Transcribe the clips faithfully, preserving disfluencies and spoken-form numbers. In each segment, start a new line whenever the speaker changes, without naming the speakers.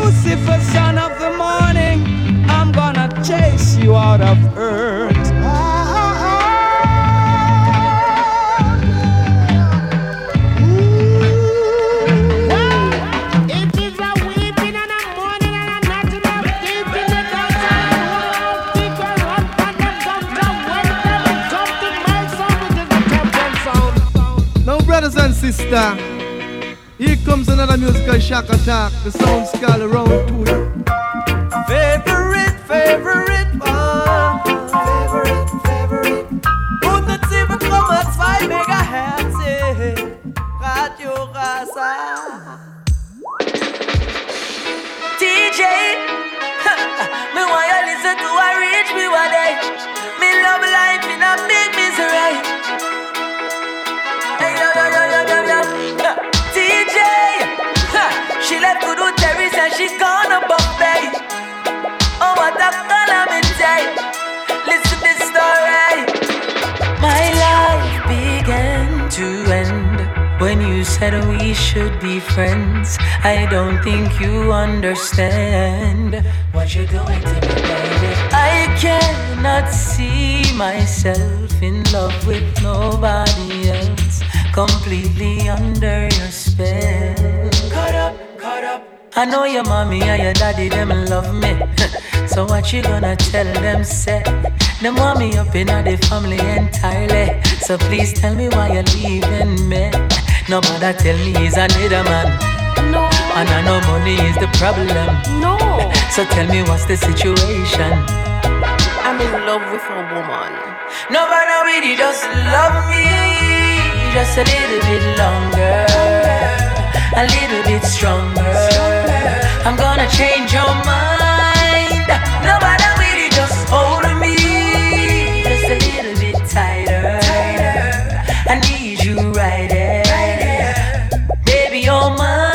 Lucifer, son of the morning, I'm gonna chase you out of earth.
Brothers and sisters, here comes another musical shock attack. The sound's called around to you.
Favorite, favorite one. Favorite, favorite. hundertsieben Komma zwei Megahertz. Radio Rasa. D J, me want you listen to a reach me one day. Me love life in a big misery. D J, she left good with Terry and she's gonna Bombay. Oh, what a calamity. Listen this story. My life began to end when you said we should be friends. I don't think you understand what you're doing to me, baby. I cannot see myself in love with nobody else. Completely under your spell. Caught up, caught up. I know your mommy and your daddy, them love me. So what you gonna tell them, say? Them want me up in the family entirely. So please tell me why you're leaving me. Nobody tell me he's another man. No. And I know money is the problem. No. So tell me what's the situation.
I'm in love with a woman.
Nobody really just love me. Just a little bit longer, a little bit stronger. I'm gonna change your mind. Nobody really just hold me. Just a little bit tighter. I need you right there. Baby, you're mine.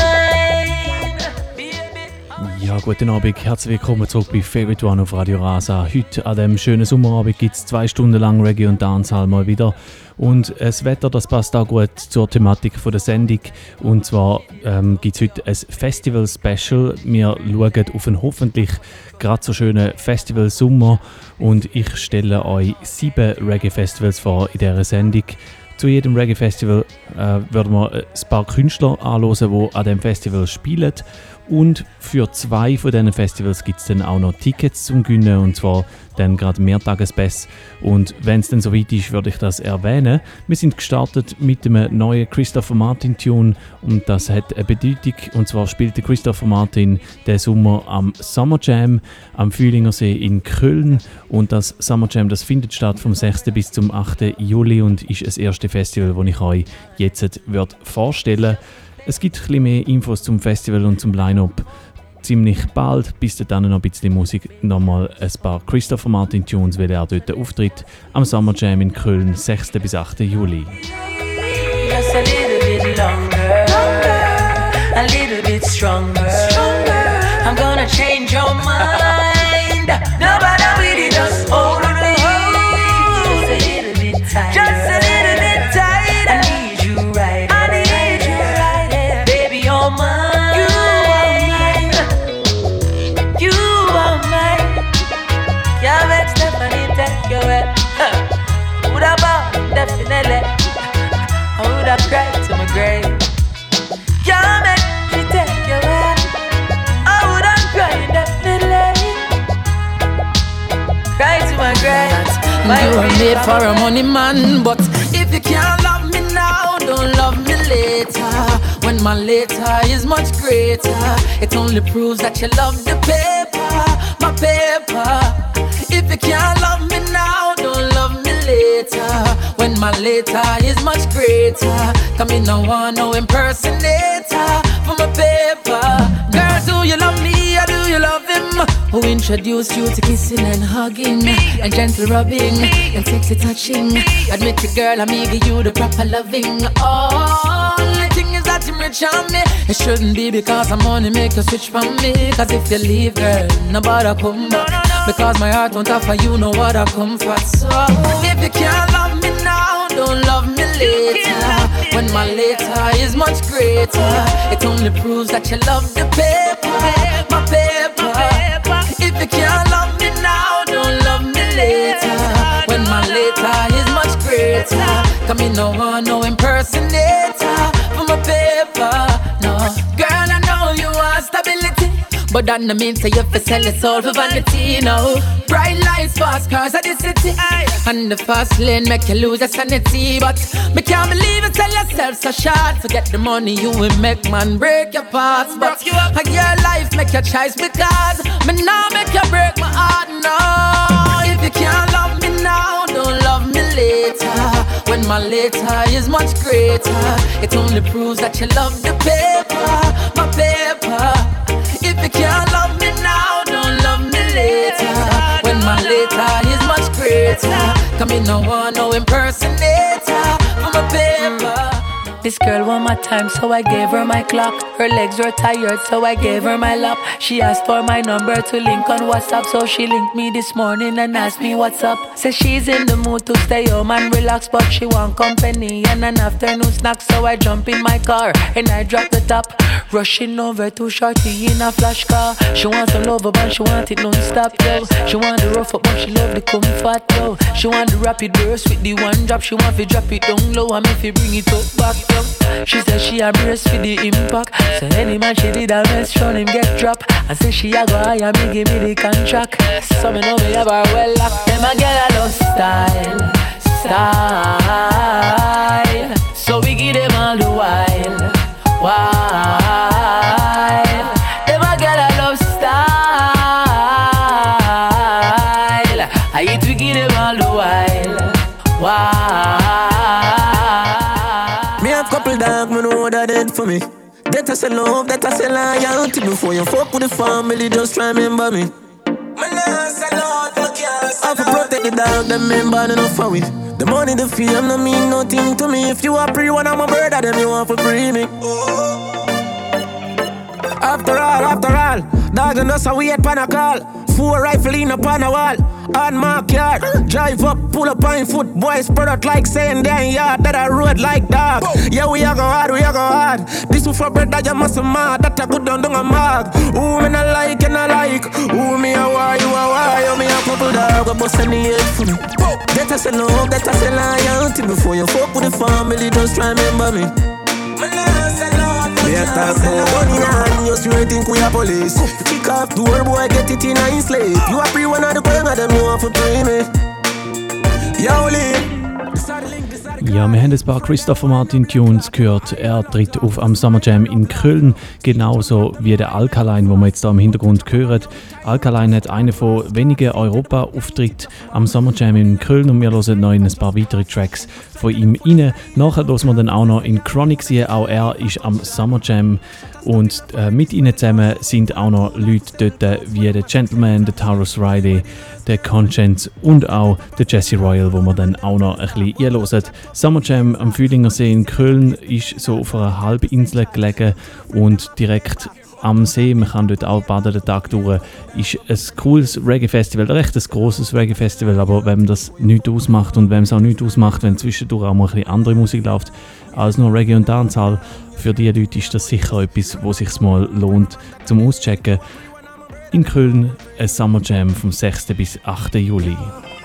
Ja, guten Abend, herzlich willkommen zurück bei Favorite One auf Radio Rasa. Heute an diesem schönen Sommerabend gibt es zwei Stunden lang Reggae und Dancehall mal wieder. Und das Wetter, das passt auch gut zur Thematik der Sendung. Und zwar ähm, gibt es heute ein Festival-Special. Wir schauen auf einen hoffentlich gerade so schönen Festival-Sommer. Und ich stelle euch sieben Reggae-Festivals vor in dieser Sendung. Zu jedem Reggae-Festival äh, werden wir ein paar Künstler anhören, die an diesem Festival spielen. Und für zwei von diesen Festivals gibt es dann auch noch Tickets zum Gewinnen, und zwar dann gerade Mehrtagespass. Und wenn es dann soweit ist, würde ich das erwähnen. Wir sind gestartet mit einem neuen Christopher Martin Tune, und das hat eine Bedeutung. Und zwar spielt der Christopher Martin den Sommer am Summer Jam am Fühlingersee in Köln. Und das Summer Jam, das findet statt vom sechsten bis zum achten Juli und ist das erste Festival, das ich euch jetzt vorstellen werde. Es gibt ein bisschen mehr Infos zum Festival und zum Line-Up ziemlich bald. Bis dann noch ein bisschen Musik. Nochmal ein paar Christopher Martin Tunes, weil er dort auftritt am Summer Jam in Köln, sechsten bis achten Juli.
Just a little bit longer, a little bit stronger. I'm gonna change your mind. Nobody really just hold me. Just a little bit tighter. Just a little bit tighter. I need you right. I need you right there. Baby, you're mine. You are mine. You are mine. Can't make Stephanie take you away. Would have bought definitely. I would have cried to my grave. Can't make me take you away. I would have cried definitely. Cry to my grave.
You were made for a money man, but if you can't love me now, don't love me later. When my later is much greater, it only proves that you love the paper, my paper. If you can't love me now, don't love me later. When my later is much greater, come in, no one, no impersonator for my paper. Girl, do you love me or do you love him? Who introduced you to kissing and hugging, me, and gentle rubbing, me, and sexy touching? Me. Admit it, girl, I'm give you the proper loving. Oh, the thing is that you rich on me. It shouldn't be because I'm money make you switch from me. Cause if you leave, girl, nobody come back. No, no, no. Because my heart won't offer you no what I come for. So if you can't love me now, don't love me later. When my later is much greater, it only proves that you love the paper, no one, no impersonator for my paper, no. Girl, I know you want stability, but that no mean say you fi sell your soul for vanity, no. Bright lights, fast cars at the city, aye. And the fast lane make you lose your sanity. But me can't believe you tell yourself so short. Forget the money you will make, man, break your parts. But a your life make your choice, because me now make you break my heart, no. If you can't love me now, don't love me later, when my later is much greater. It only proves that you love the paper, my paper. If you can't love me now, don't love me later, when my later is much greater. Come in, no one, no impersonator for my paper. This girl want my time, so I gave her my clock. Her legs were tired, so I gave her my lap. She asked for my number to link on WhatsApp, so she linked me this morning and asked me what's up. Says she's in the mood to stay home and relax, but she want company and an afternoon snack. So I jump in my car and I drop the top, rushing over to Shorty in a flash car. She wants a lover, but she want it non-stop, yo. She want the rough up, but she love the comfort, yo. She want the rapid burst with the one drop. She want to drop it down low and if you bring it up back, yo. She said she a brace for the impact, so any man she did a mess round him get drop. And say she a go hire me, give me the contract. So me know me have her well locked. Them a get a love style, style. So we give them all the while, while. Them a get a love style. I eat we give them all the while, while.
Couple dog, me know that dead for me. That I say love, that I say loyalty. Before you fuck with the family, just try remember me. I have to protect the dog, them member enough for we. The money, the fame, no mean nothing to me. If you are free, one of my brother, then you want to free me. After all, after all, dog and us are wait pan a call. Four rifle in upon a wall, on my yard. Drive up, pull up on foot, boys spread out like saying damn yard. That I road like dog. Yeah, we a go hard, we a go hard. This one for bread that you must mad. That I good down down a mark. Who me not like and I like. Who me a why, you a why. You me a couple dog, but bust any head for me. That I say love, that I say loyalty. Before you fuck with the family, just try remember me. We a talk about money and you still think we a police. Kick off door, boy, get it in a slave. You a free one of the gang of them, you want to pay me. Yo, Lee.
Ja, wir haben ein paar Christopher Martin Tunes gehört. Er tritt auf am Summer Jam in Köln, genauso wie der Alkaline, wo wir jetzt da im Hintergrund hören. Alkaline hat einen von wenigen Europa-Auftritten am Summer Jam in Köln und wir hören noch in ein paar weitere Tracks von ihm rein. Nachher hören wir dann auch noch in Chronic sehen, auch er ist am Summer Jam und äh, mit ihnen zusammen sind auch noch Leute dort wie der Gentleman, der Taurus Riley, der Conscience und auch der Jesse Royal, wo wir dann auch noch ein bisschen einhören. Summer Jam am Fühlinger See in Köln ist so auf einer Halbinsel gelegen und direkt am See, man kann dort auch baden den Tag durch, ist ein cooles Reggae-Festival, recht ein grosses Reggae-Festival, aber wenn das nichts ausmacht und wenn es auch nichts ausmacht, wenn zwischendurch auch mal ein bisschen andere Musik läuft als nur Reggae und Dancehall, für die Leute ist das sicher etwas, wo es sich mal lohnt zum Auschecken. In Köln ein Summer Jam vom sechsten bis achten Juli.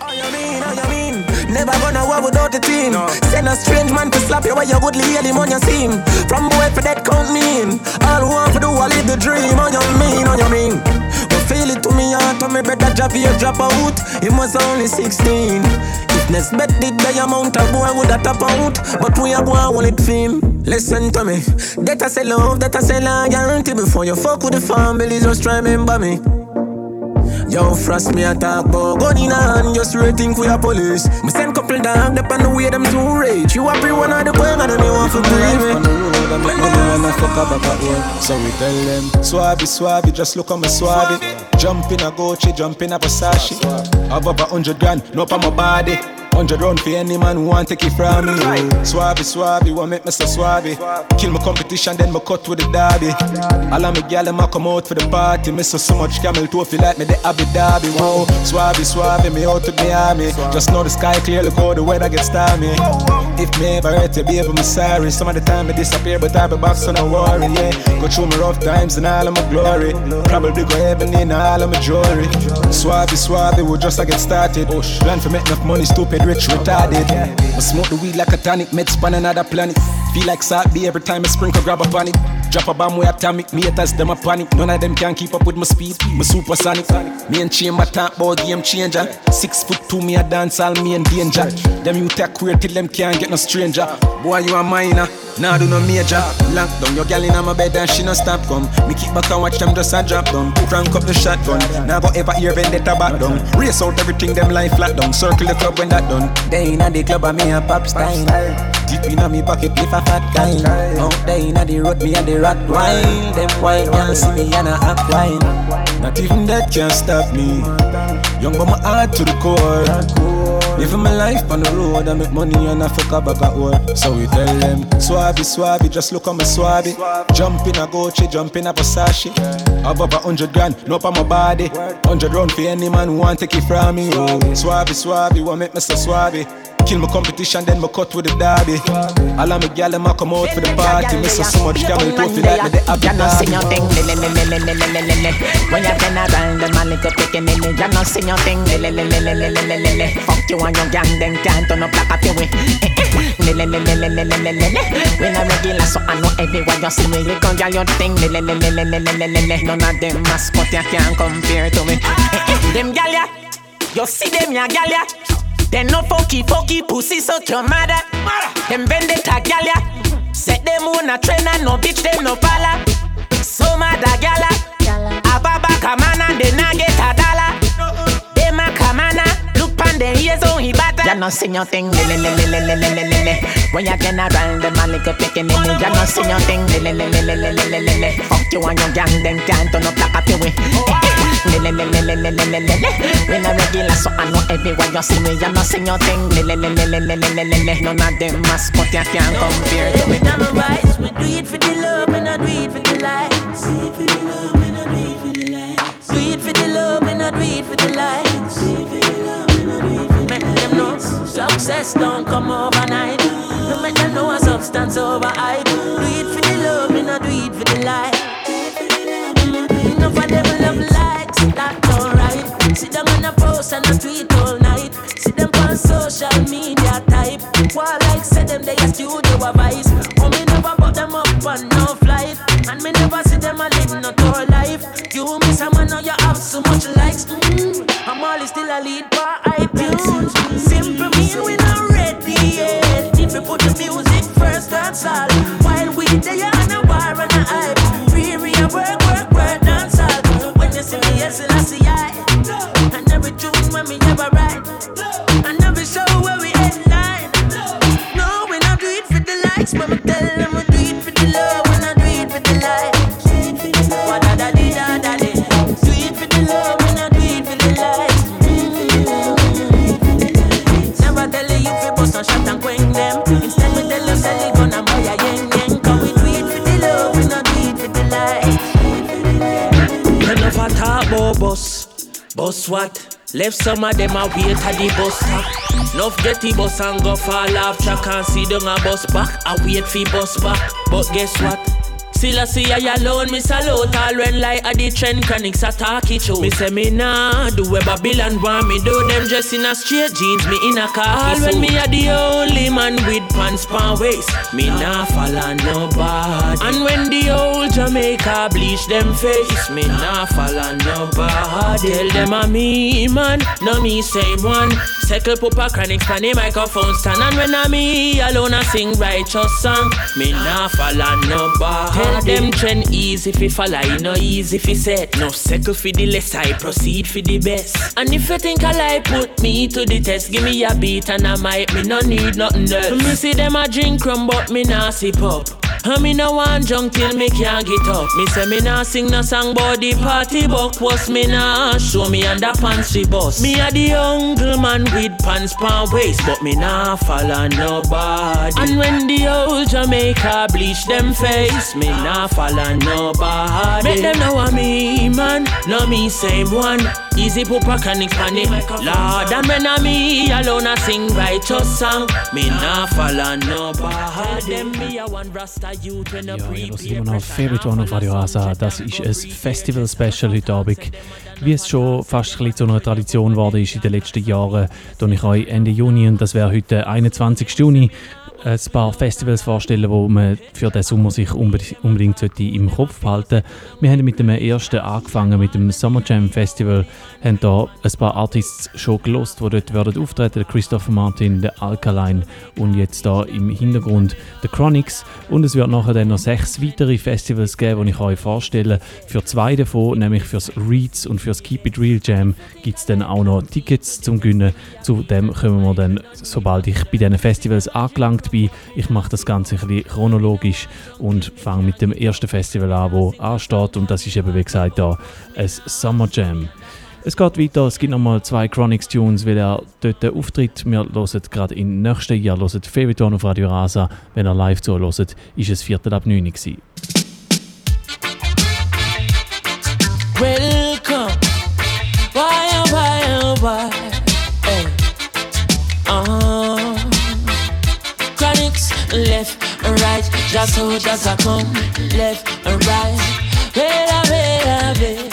Never gonna war without the team. No. Send a strange man to slap you while you goodly hear him on your team. From boy for that count me in. All who want to do I live the dream. On your mean, on your mean. But feel it to me heart, me better drop you drop out. He was only sixteen. If next bet did the amount of boy would have tap out. But we are going to it fame. Listen to me. That I say love, that I say loyalty. Before you fuck with the family, just remember me. Yo, frost me a talk about gun in hand, just rating for your police. Me send couple down, dep on the way them too rage. You happy one of the boys and them you want to believe me. On the road, I'm like, no one fuck up back at so we tell them, swabby, swabby, just look on me swabby. Jump in a Gucci, jump in a Versace. Have up a hundred grand, no up on my body. Hundred round for any man who want take it from me. Swabby, swabby, want make me so swabby. Kill my competition, then me cut with the derby. All of me gyal them a come out for the party. Me so so much camel toe feel like me the Abu Dhabi. Wow, swabby, swabby, me out to the army. Just know the sky clear, look how the weather gets stormy. If me ever hurt you, baby, me sorry. Some of the time me disappear, but I be back, so no worry. Yeah, go through my rough times and all of my glory. Probably go heaven in all of my jewelry. Swabby, swabby, we just a get started. Plan for make enough money, stupid. red rich retarded. I smoke the weed like a tonic, meds on another planet. Feel like salt be every time I sprinkle grab up on it. Drop a bomb way atomic, me haters them a panic. None of them can keep up with my speed, my supersonic. Me and Chamber talk about game changer. Six foot two, me a dance all me in danger. Them you take queer till them can't get no stranger. Boy you a minor, nah do no major. Lock down your gal in my bed and she no stop come. Me keep back and watch them just a drop down. Crank up the shotgun, now go ever hear vendetta back down. Race out everything them lie flat down. Circle the club when that done. They inna the club and me a pop style. Deep inna me pocket if a fat guy. Out there inna the road me a the rat wild. Them white girls see me and I act wild. Not even that can stop me. Young but my heart to the core. Living my life on the road, I make money and I fuck up back at work. So we tell them, Swabby, Swabby, just look on my Swabby. Jump in a Gucci, jump in a Versace. Above a hundred grand, no up on my body. Hundred round for any man who want take it from me. Oh, Swabby, Swabby, what make me so Swabby? Kill my competition, then my cut with the derby. All of my gal them a come out for the party. Miss so, so much camel toe feel like me they have the derby. You know sing your thing, le le le le le le le le le. When you turn around, them a little picking in it. You know sing your thing, le le le le le le le le le. Fuck you and your gang, them can't turn up like a peewee. Le le le le le le le le le le. When I regular, so I know everyone you see me. You gon' get your thing, le le le le le le le le le le. None of them mascot you can't compare to me. Them gal ya, you see them ya gal ya. They no funky, funky pussy, so your mother. Them vendetta gala. Set them on a train and no bitch, them no pala. So mad a gala. Ababa kamana, they na get a dollar. They ma kamana, look pan the ears on he batter. Ya no sing your thing, le le le le le le le le le. When you turn around, them a little picking in it. Ya no sing your thing, le le le le le le le le le. Fuck you and your gang, them can't turn up like a peewee. Le le le le le le le le le. When I regular, so I know everywhere you see me. You know sing your thing. Le le le le le le le le le. None of them mascot you can't compare to me.
We done right. We do it for the love, and I do it for the likes. Do it for the love, and I do it for the likes. Do it for the love, and I do it for the likes. Do it for the love, and I do it for the likes. Make them know success don't come overnight. No make them know a substance over hype. Do it for the love, and I do it for the likes. Enough of them love likes, that's alright. Sit them on a post and a tweet all night. See them on social media type. While like say them they a studio advice. Oh me never put them up on no flight. And me never see them a live no tour life. You miss a man now you have so much likes. Mm-hmm. I'm always still a lead for iTunes. Simple mean we not ready yet. If we put the music first, that's all. While we there on a war and a hype. Free real work, work, work, dance all. When you see me, yes, I see I. And every tune when me ever write. And every show where we headline. No, we not do it for the likes, but me tell them we do it for the love. We not do it for the likes. What da da di da da di. Do it for the love, we not do it for the likes. Never tell you if you bust a shot and quench them. Instead me tell you sell it gun and buy a yen yen. Cause we do it for the love, we not do it for the likes.
Enough a talk about bus. Bus what? Left some of them a wait at the bus stop. Nuff get the bus and go fall off track and see them a bus back. I wait for bus back. But guess what? Still I see I alone, me salute all when like a the trend chronics a talk it show. Me say me nah do where Babylon want me do. Them dress in a straight jeans, me in a khaki suit. All when me a the only man with pants pan waist, me nah follow nobody. And when the old Jamaica bleach them face, me nah follow nobody. Tell them a me man, no me same one. Circle Pupa Chronics pan the microphone stand. And when I me alone I sing righteous song, me nah follow nobody. Tell them trend easy fi follow, you know easy fi set. No circle fi the less, I proceed fi the best. And if you think I lie, put me to the test. Give me a beat and I might, me no need nothing else. Me see them a drink rum but me nah sip up. And me no want junk till me can't get up. Me say me nah sing no song but the party buck was me nah show me underpants fi bust. Me a the uncle man with pants pan waist, but me nah follow nobody. And when the old Jamaica bleach them face, me nah follow nobody. Make them know a me man, No me same one. Easy pupa chronic panic. Lord, and when I me alone I sing righteous song. Me nah follow no bad. Them me a one Rasta youth when a
Ja, ihr hört immer noch Favorite One auf Radio Rasa. Das ist ein Festival-Special heute Abend. Wie es schon fast ein bisschen zu einer Tradition geworden ist in den letzten Jahren, tue ich euch Ende Juni, und das wäre heute einundzwanzigsten Juni, ein paar Festivals vorstellen, die man für den Sommer sich unbedingt sollte im Kopf behalten. Wir haben mit dem ersten angefangen, mit dem Summer Jam Festival. Wir haben hier ein paar Artists schon gelost, die dort werden auftreten. Der Christopher Martin, der Alkaline und jetzt hier im Hintergrund der Chronix. Und es wird nachher dann noch sechs weitere Festivals geben, die ich euch vorstelle. Für zwei davon, nämlich fürs Reeds und fürs Keep It Real Jam, gibt es dann auch noch Tickets zum Gewinnen. Zu dem kommen wir dann, sobald ich bei diesen Festivals angelangt bin. Ich mache das Ganze ein bisschen chronologisch und fange mit dem ersten Festival an, das ansteht. Und das ist eben, wie gesagt, da ein Summer Jam. Es geht weiter, es gibt nochmal zwei Chronix-Tunes, weil er dort auftritt. Wir hören gerade im nächsten Jahr, hören Favorite One auf Radio Rasa. Wenn er live zuhört, ist es Viertel ab neun gewesen.
Welcome. Why, oh, why, oh, why? Hey. Uh-huh. Chronix, left and right. Just so just a come. Left and right. Wait, wait, wait.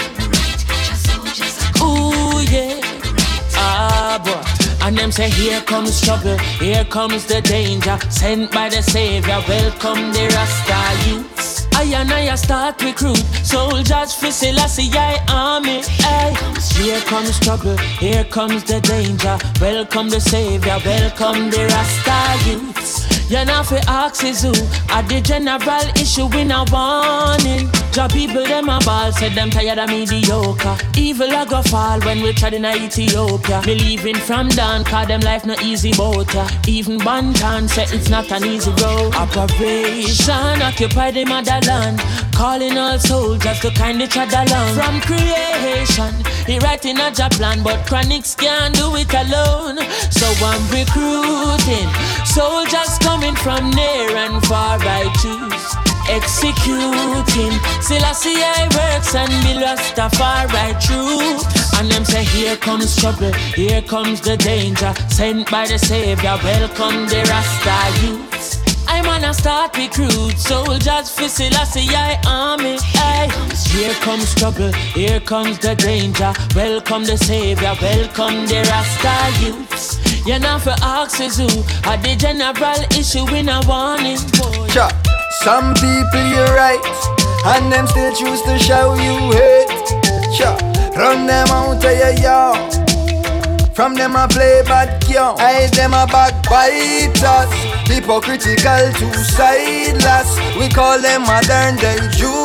Ooh, yeah. Ah, boy. And them say, here comes trouble, here comes the danger. Sent by the Savior, welcome the Rasta youths. I and I start recruit soldiers for Selassie I army. Ay. Here comes trouble, here comes the danger. Welcome the Savior, welcome the Rasta youths. You know fi ask is who at the general issue in a warning. Job people them a ball, said them tired of mediocre. Evil a go fall when we tried in Ethiopia. Me leaving from down, cause them life no easy boat ya. Even Bantan said it's not an easy road. Operation occupy the motherland, calling all soldiers to kind each other along. From creation, he writing a job plan, but Chronix can't do it alone. So I'm recruiting soldiers coming from near and far. I choose executing Selassie I works and be Rastafari true. And them say here comes trouble, here comes the danger. Sent by the Savior, welcome the Rasta youths. I'm gonna start recruit soldiers for Selassie I army. Ay. Here comes trouble, here comes the danger. Welcome the Savior, welcome the Rasta youths. You know for ask is who at the general issue in a warning.
Sure. Some people you're right, and them still choose to show you hate. Sure. Run them out of your yard. From them I play bad girl, I them a backbiters. Hypocritical, two-sideless. We call them modern day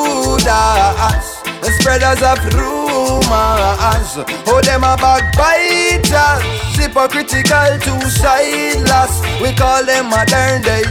Judas, the spreaders of rumors. Oh, them a backbiters. Hypocritical, two-sideless. We call them modern day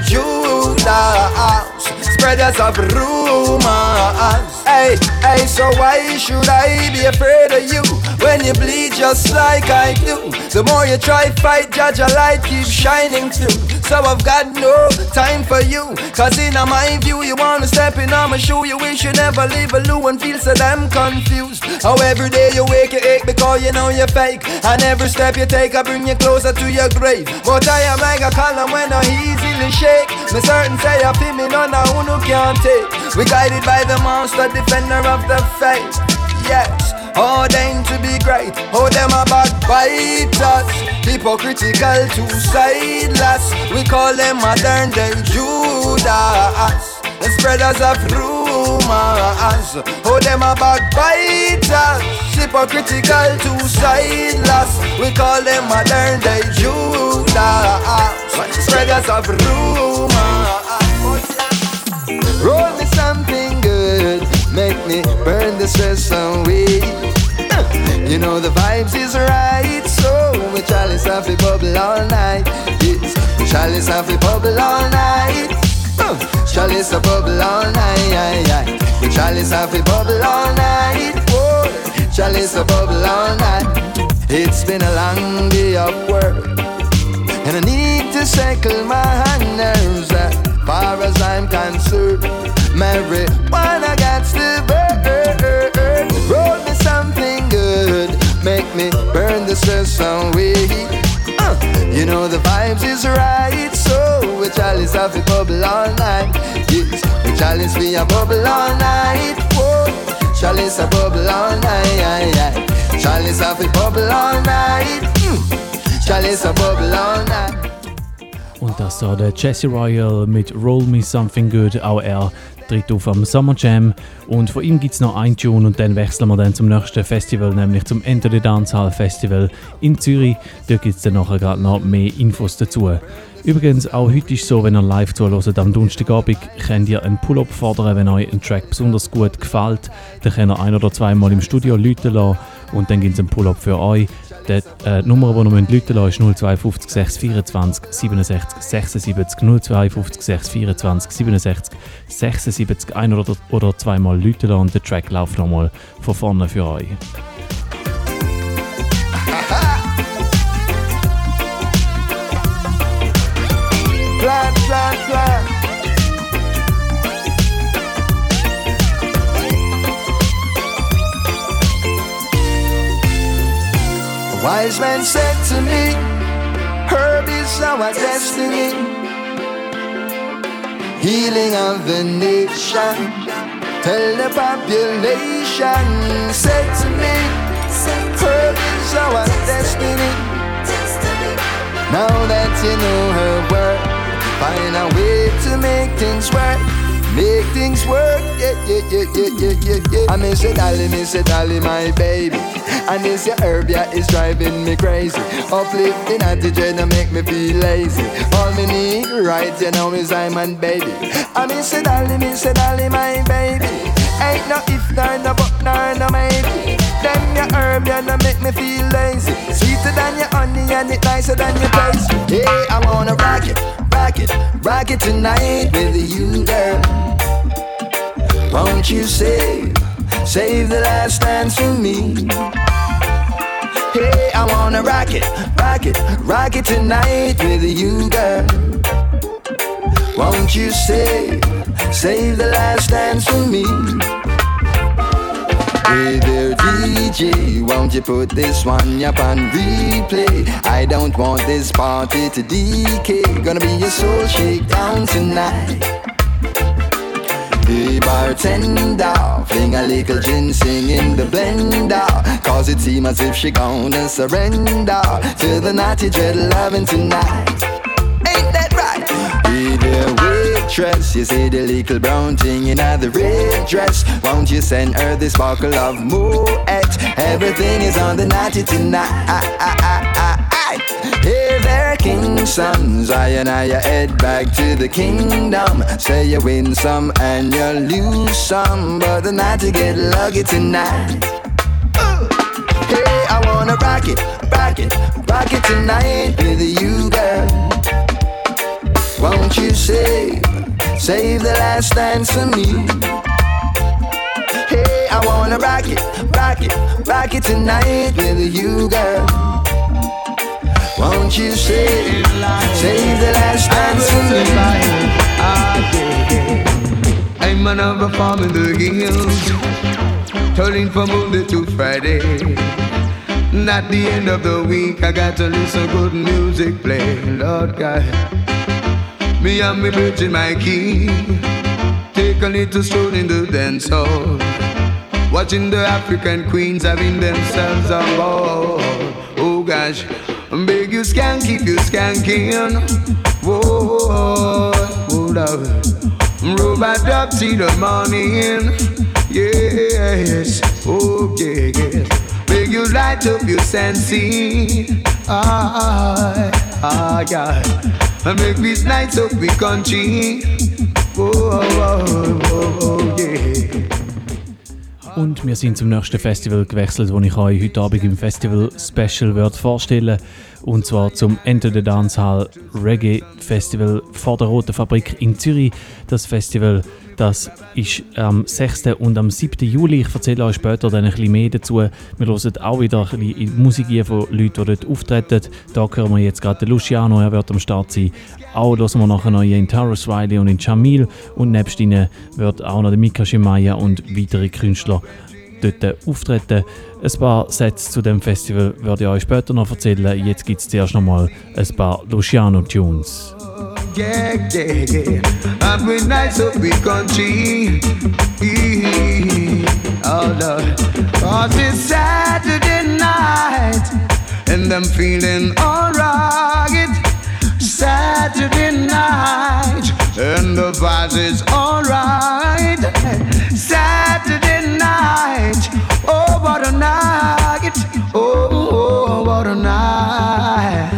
Judas, spreaders of rumors. Hey, hey, so why should I be afraid of you when you bleed just like I do? The more you try fight, judge a light keeps shining through. So I've got no time for you, cause in my view you wanna step in on my shoe. You wish you never leave a loo and feel so damn confused. How every day you wake you ache because you know you're fake, and every step you take I bring you closer to your grave. But I am like a column when I easily shake. Me certain say I feel me none of who no can't take. We guided by the monster, defender of the faith. Yes, ordained to be great. Oh, them a backbiters, hypocritical, two-sideless. We call them modern day Judas, the spreaders of rumors. Oh, them a backbiters, hypocritical, two-sideless. We call them modern day Judas, spreaders of rumors. Roll me something good, make me burn the stress away. You know the vibes is right, so we chalice have a bubble all night. Yes, chalice have a bubble all night. Uh, chalice a bubble all night. We chalice have a bubble all night. Whoa, chalice a bubble all night. It's been a long day of work, and I need to settle my nerves. As far as I'm concerned, marijuana got to burn. Roll me some me burn the stress away. Uh, you know the vibes is right, so we chalice have a bubble all night. Yes, we chalice be a bubble all night. Whoa, chalice a bubble all night. Chalice have a bubble all night. Mm. Chalice a bubble all night.
Und das da der Jesse Royal mit Roll Me Something Good, auch er tritt auf am Summer Jam. Und von ihm gibt es noch ein Tune und dann wechseln wir dann zum nächsten Festival, nämlich zum Enter the Dancehall Festival in Zürich. Da gibt es dann nachher gerade noch mehr Infos dazu. Übrigens, auch heute ist es so, wenn ihr live zuhört am Donnerstagabend, könnt ihr einen Pull-up fordern, wenn euch ein Track besonders gut gefällt. Dann könnt ihr ein- oder zweimal im Studio läuten lassen und dann gibt es einen Pull-up für euch. Die äh, Nummer, die ihr läuten lassen ist null zwei fünf sechs vierundzwanzig siebenundsechzig sechsundsiebzig null zwei fünf sechs vierundzwanzig siebenundsechzig sechsundsiebzig ein- oder, oder zweimal läuten lassen und der Track läuft nochmal von vorne für euch.
Plan, plan, plan. A wise man said to me, herb is our destiny, healing of the nation. Tell the population, said to me, herb is our destiny. Now that you know her word, find a way to make things work, make things work, yeah, yeah, yeah, yeah, yeah, yeah, yeah. I miss it, Dolly, miss it, Dolly, my baby. And this your herb, yeah, is driving me crazy. Uplifting attitude to make me feel lazy. All me need right, you know, is I'm and baby. I miss it, Dolly, miss it, Dolly, my baby. Ain't no if, nor no but, nor no maybe. Then your herb, yeah, no make me feel lazy. Sweeter than your honey and it nicer than your taste. Hey, I wanna rock it, rock it, rock it tonight with you, girl. Won't you save, save the last dance for me? Hey, I wanna rock it, rock it, rock it tonight with you, girl. Won't you save, save the last dance for me? Hey there D J, won't you put this one up on replay? I don't want this party to decay. Gonna be a soul shakedown tonight. Hey bartender, fling a little ginseng in the blender, cause it seems as if she gonna surrender to the naughty dread loving tonight. Ain't that right? Hey there waitress, you see the little brown thing in the red dress. Won't you send her this bottle of Moet? Everything is on the naughty tonight. Hey there, king sons, I and I head back to the kingdom. Say you win some and you lose some, but the night to get lucky tonight. Uh. Hey, I wanna rock it, rock it, rock it tonight with you, girl. Won't you save, save the last dance for me? Hey, I wanna rock it, rock it, rock it tonight with you, girl. Won't you save, save the last dance for me?
I'm another farm in the hills, turning from Monday to Friday. And at the end of the week, I got to listen to good music play. Lord God, me and me virgin my key, take a little stroll in the dance hall, watching the African queens having themselves a ball. Oh gosh, beg you skank, keep you skanking. Whoa, hold up, robot up till the morning. Yes, okay, yes. Beg you light up your sensing. Ah, ah, God. And make this night up we country. Oh, oh, oh, oh, yeah.
Und wir sind zum nächsten Festival gewechselt, das ich euch heute Abend im Festival Special werde vorstellen. Und zwar zum Enter the Dancehall Reggae Festival vor der Roten Fabrik in Zürich. Das Festival, das ist am sechsten und am siebten Juli. Ich erzähle euch später dann ein bisschen mehr dazu. Wir hören auch wieder ein bisschen Musik von Leuten, die dort auftreten. Da hören wir jetzt gerade den Luciano, er wird am Start sein. Auch hören wir nachher noch in Tarrus Riley und in Jamil. Und nebst ihnen wird auch noch der Mika Shemaya und weitere Künstler dort auftreten. Ein paar Sätze zu dem Festival werde ich euch später noch erzählen. Jetzt gibt es zuerst noch mal ein paar Luciano-Tunes.
Yeah, yeah, yeah. I'm with nice up big country. Oh Lord, cause it's Saturday night and I'm feeling alright. Saturday night and the vibes is alright. Saturday night, oh what a night, oh, oh what a night.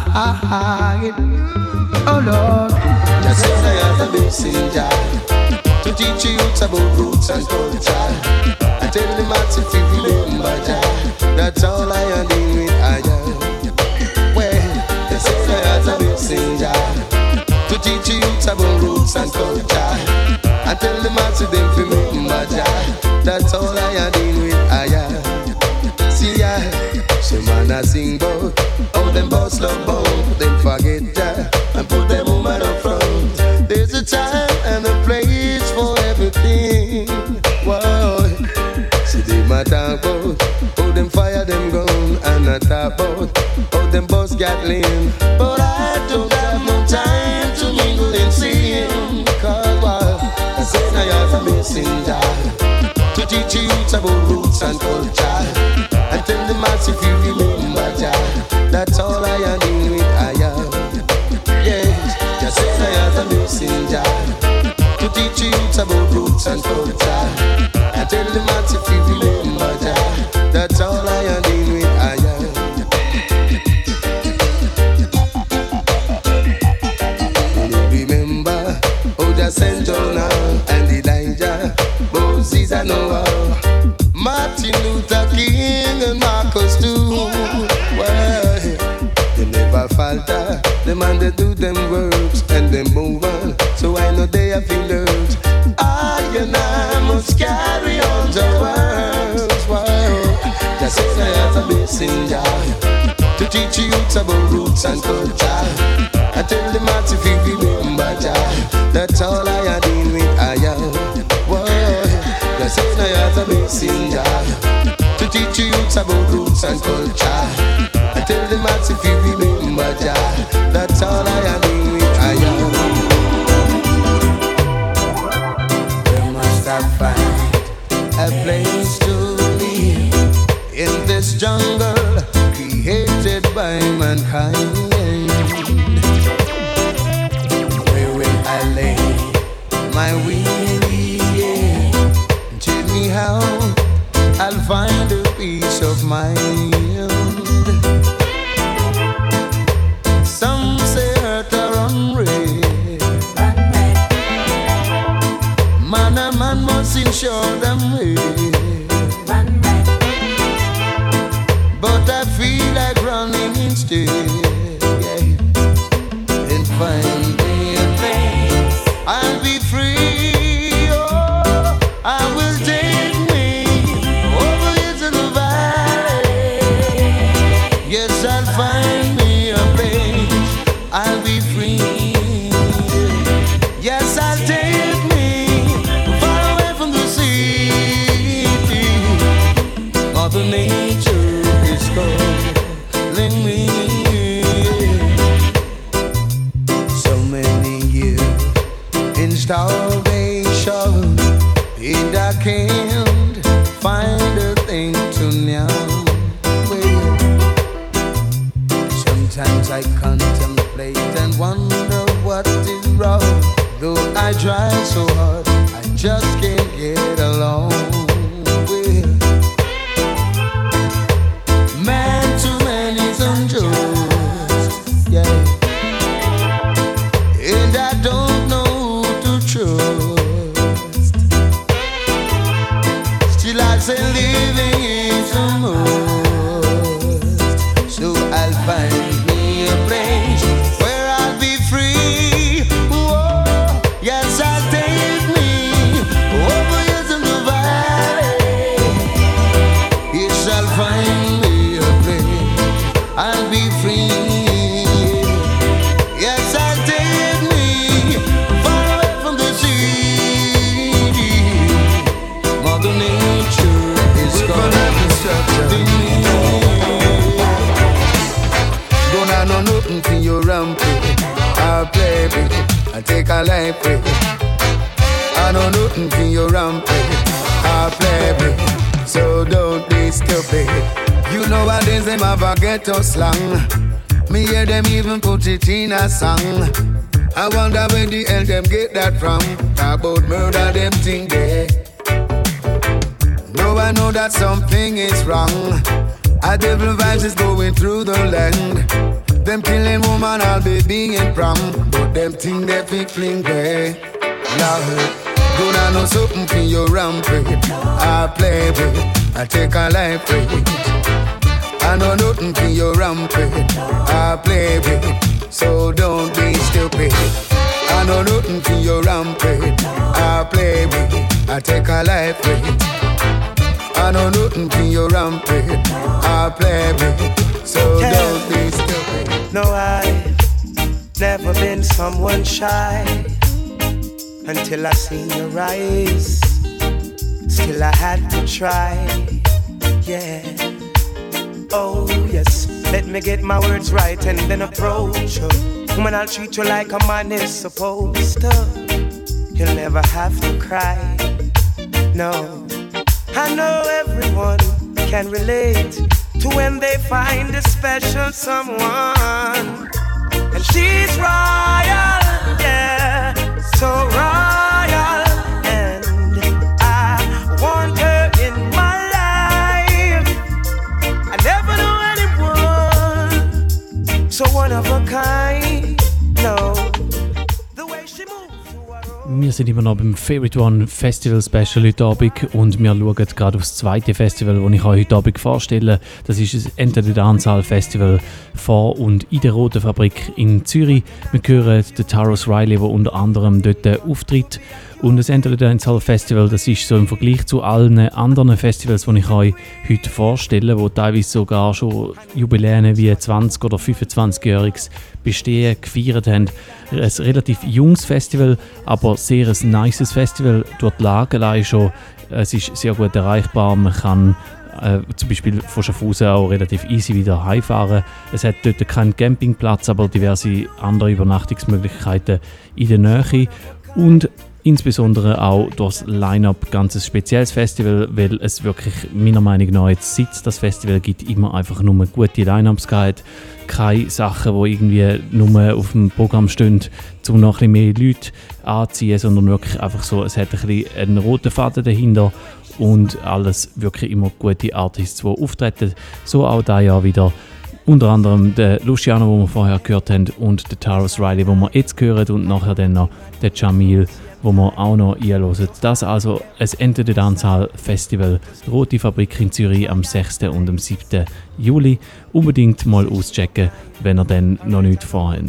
Oh Lord, just as I have a messenger to teach you about roots and culture. I tell them how to feel remember Jah. That's all I am doing with I am. Well, just as I have a messenger to teach you about roots and culture. I tell them how to them feel remember Jah. That's all I am doing with I am. See ya, some man a sing bout how them boss love bout them forget Jah. And put them woman up front. There's a time and a place for everything. Whoa. See them a talk about how them fire them gun. And I talk about how them boss got lean. But I don't have no time to mingle and sing. Cause wow, I said I have a messenger to teach you about roots and culture. And tell them as if you remember Jah. That's all I am doing with I am. Just as I have a messenger to teach you about roots and culture. I tell them that if you remember Jah, that's all I am doing with I am. You remember how Jah sent Jonah and Elijah, Moses and Noah, Martin Luther King and Marcus too. Well, they never falter. The man they do them works and they move on. So I know they have been learned. I and I must carry on the words. Wow. Just as I have a messenger to teach you about roots and culture. I tell them how to feel remember Jah. That's all I am doing with I am. Whoa. Just as I have a messenger to teach you about roots and culture. I tell them how to feel remember Jah. That's all I am doing with I am. We must have found a place to live in this jungle created by mankind. Where will I lay my weary head? Tell me how I'll find a peace of mind. Some say earth are unreal. Man and man must ensure them way. But I feel like running instead, yeah. And find me a place I'll be free. Oh, I will take me over into the valley. Yes, I'll find me a place I'll be free. Yes, I'll take me far away from the city. Mother Nature is calling me. So many years in starvation, and I can't find a thing to now. Sometimes I contemplate and wonder what is wrong. Though I try so hard, I just can't get along with man. Too many is unjust, yeah. And I don't know who to trust. Still I say living is a must. So I'll find me a place where I'll be free. Whoa, yes, I'll take me over here in the valley. Yes, I'll find me a place I'll be free. Yes, I'll take me far away from the city. Mother Nature nothing for your rampage. I'll play with it, I take a life with it. I know nothing for your rampage. I'll play with it, so don't be stupid. You know what is them have a ghetto slang. Me hear them even put it in a song. I wonder where the hell them get that from. Talk about murder, them thing there. No, I know that something is wrong. A devil vibes is going through the land. Them killing woman, I'll be being prom. But them thing they fi fling there. Lord, good I know something for your rampage. I play with it, I take a life with it. I know nothing for your rampage. I play with it, so don't be stupid. I know nothing for your rampage. I play with it, I take a life with it. I know nothing for your rampage. I play with it, so yeah. Don't be stupid.
No, I've never been someone shy until I seen your eyes. Still I had to try, yeah. Oh yes, let me get my words right and then approach you. Woman, I'll treat you like a man is supposed to. You'll never have to cry, no. I know everyone can relate to when they find a special someone. And she's royal, yeah, so royal. And I want her in my life. I never knew anyone so one of a kind, no. The way she moves.
Wir sind immer noch beim Favorite One Festival Special heute Abend und wir schauen gerade auf das zweite Festival, das ich euch heute Abend vorstelle. Das ist das Enter the Dancehall Festival vor und in der Roten Fabrik in Zürich. Wir hören den Tarrus Riley, der unter anderem dort auftritt. Und das Enter the Dancehall Festival, das ist so im Vergleich zu allen anderen Festivals, die ich euch heute vorstelle, wo teilweise sogar schon Jubiläen wie zwanzig- oder fünfundzwanzigjähriges Bestehen gefeiert haben. Ein relativ junges Festival, aber sehr ein nices Festival. Durch die Lage allein schon, es ist sehr gut erreichbar. Man kann äh, zum Beispiel von Schaffhausen auch relativ easy wieder heimfahren. Es hat dort keinen Campingplatz, aber diverse andere Übernachtungsmöglichkeiten in der Nähe. Und insbesondere auch durch das Line-Up ganz ein spezielles Festival, weil es wirklich meiner Meinung nach jetzt, seit es das Festival gibt, immer einfach nur gute Line-Ups gibt. Keine Sachen, die irgendwie nur auf dem Programm stehen, um noch ein bisschen mehr Leute anzuziehen, sondern wirklich einfach so, es hat ein bisschen einen roten Faden dahinter und alles wirklich immer gute Artists, die auftreten. So auch dieses Jahr wieder. Unter anderem der Luciano, den wir vorher gehört haben, und der Tarrus Riley, den wir jetzt hören, und nachher dann noch der Jamil, wo wir auch noch einhören. Das also ein Enter the Dancehall Festival, Rote Fabrik in Zürich am sechsten und am siebten Juli. Unbedingt mal auschecken, wenn ihr dann noch nichts vorhabt.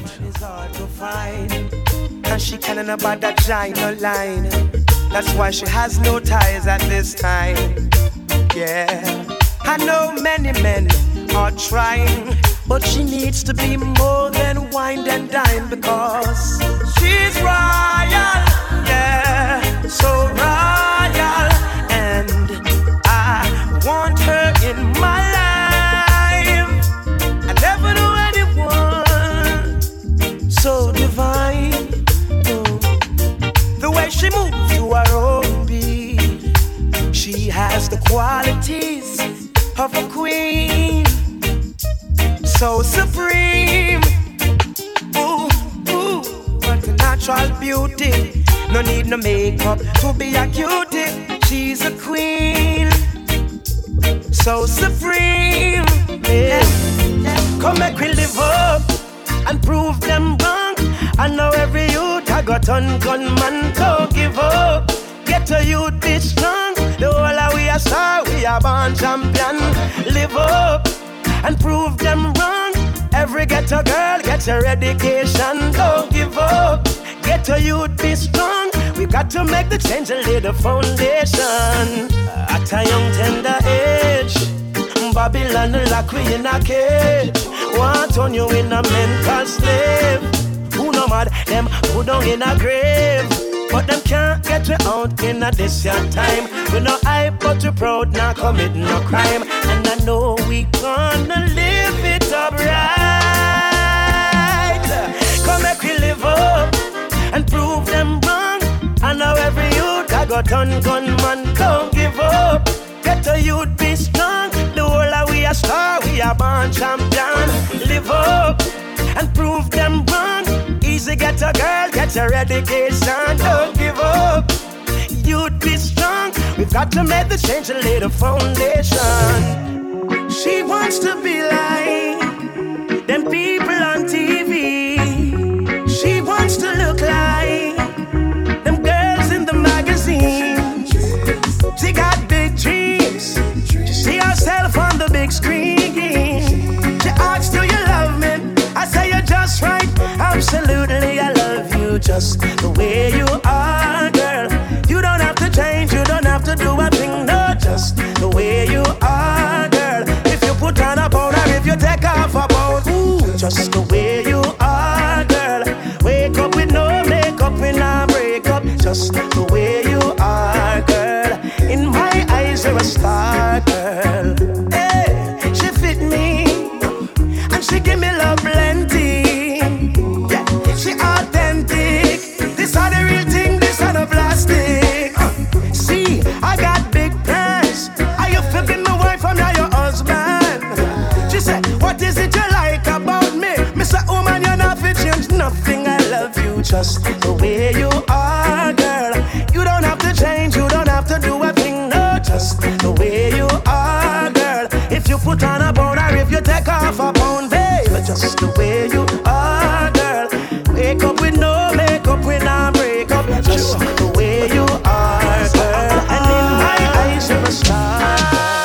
She can't about that giant line. That's why she has no ties at this time. Yeah, I know many men are trying, but she needs to be more than wine and dine because she's royal, yeah, so royal, and I want her in my life. I never knew anyone so divine. The way she moves to her own beat, she has the qualities of a queen, so supreme. Ooh, ooh, what a natural beauty. No need no makeup to be a cutie. She's a queen, so supreme. Yeah. Come make we live up and prove them wrong. I know every youth I got on gunman, don't give up. Get a youth, be strong. The whole of we are star, we are born champion. Live up and prove them wrong. Every ghetto girl gets her education, don't give up. Get a youth, be strong. We got to make the change and lay the foundation. At a young tender age, Babylon lock we in a cage. Want on you in a mental slave. Who no mad, them put down in a grave. But them can't get you out in a this your time. We no hype but you proud, not commit no crime. And I know we gonna live it up right.
go turn gunman. Don't give up. Get a youth, be strong. The whole of we a star, we a born champion. Live up and prove them wrong. Easy get a girl, get your education. Don't give up. You'd be strong. We've got to make the change and lay the foundation. She wants to be like them people on T V. She wants to look like them girls in the magazine. She got big dreams. She see herself on the big screen. She asks, do you love me? I say you're just right. Absolutely, I love you just the way you are, girl. You don't have to change, you don't have to do a thing, no, just the way you are, girl. If you put on a pound or if you take off a pound, ooh, just the way you are, girl. Wake up with no makeup, we not break up, just the way you are, girl. In my eyes, you're a star, girl. Hey, she fit me, and she give me love plenty. Yeah, she authentic. This are the real thing, this are the plastic. Uh, see, I got big plans. Are you flipping my wife or now your husband? She said, what is it you like about me? Mister Woman, you're not fit, change nothing. I love you just the way you are, girl. You don't have to change, you don't have to do a thing, no, just the way you are, girl. If you put on a pound or if you take off a pound, babe, just the way you are, girl. Wake up with no makeup, we not break up, just the way you are, girl. And in my eyes, you're a star.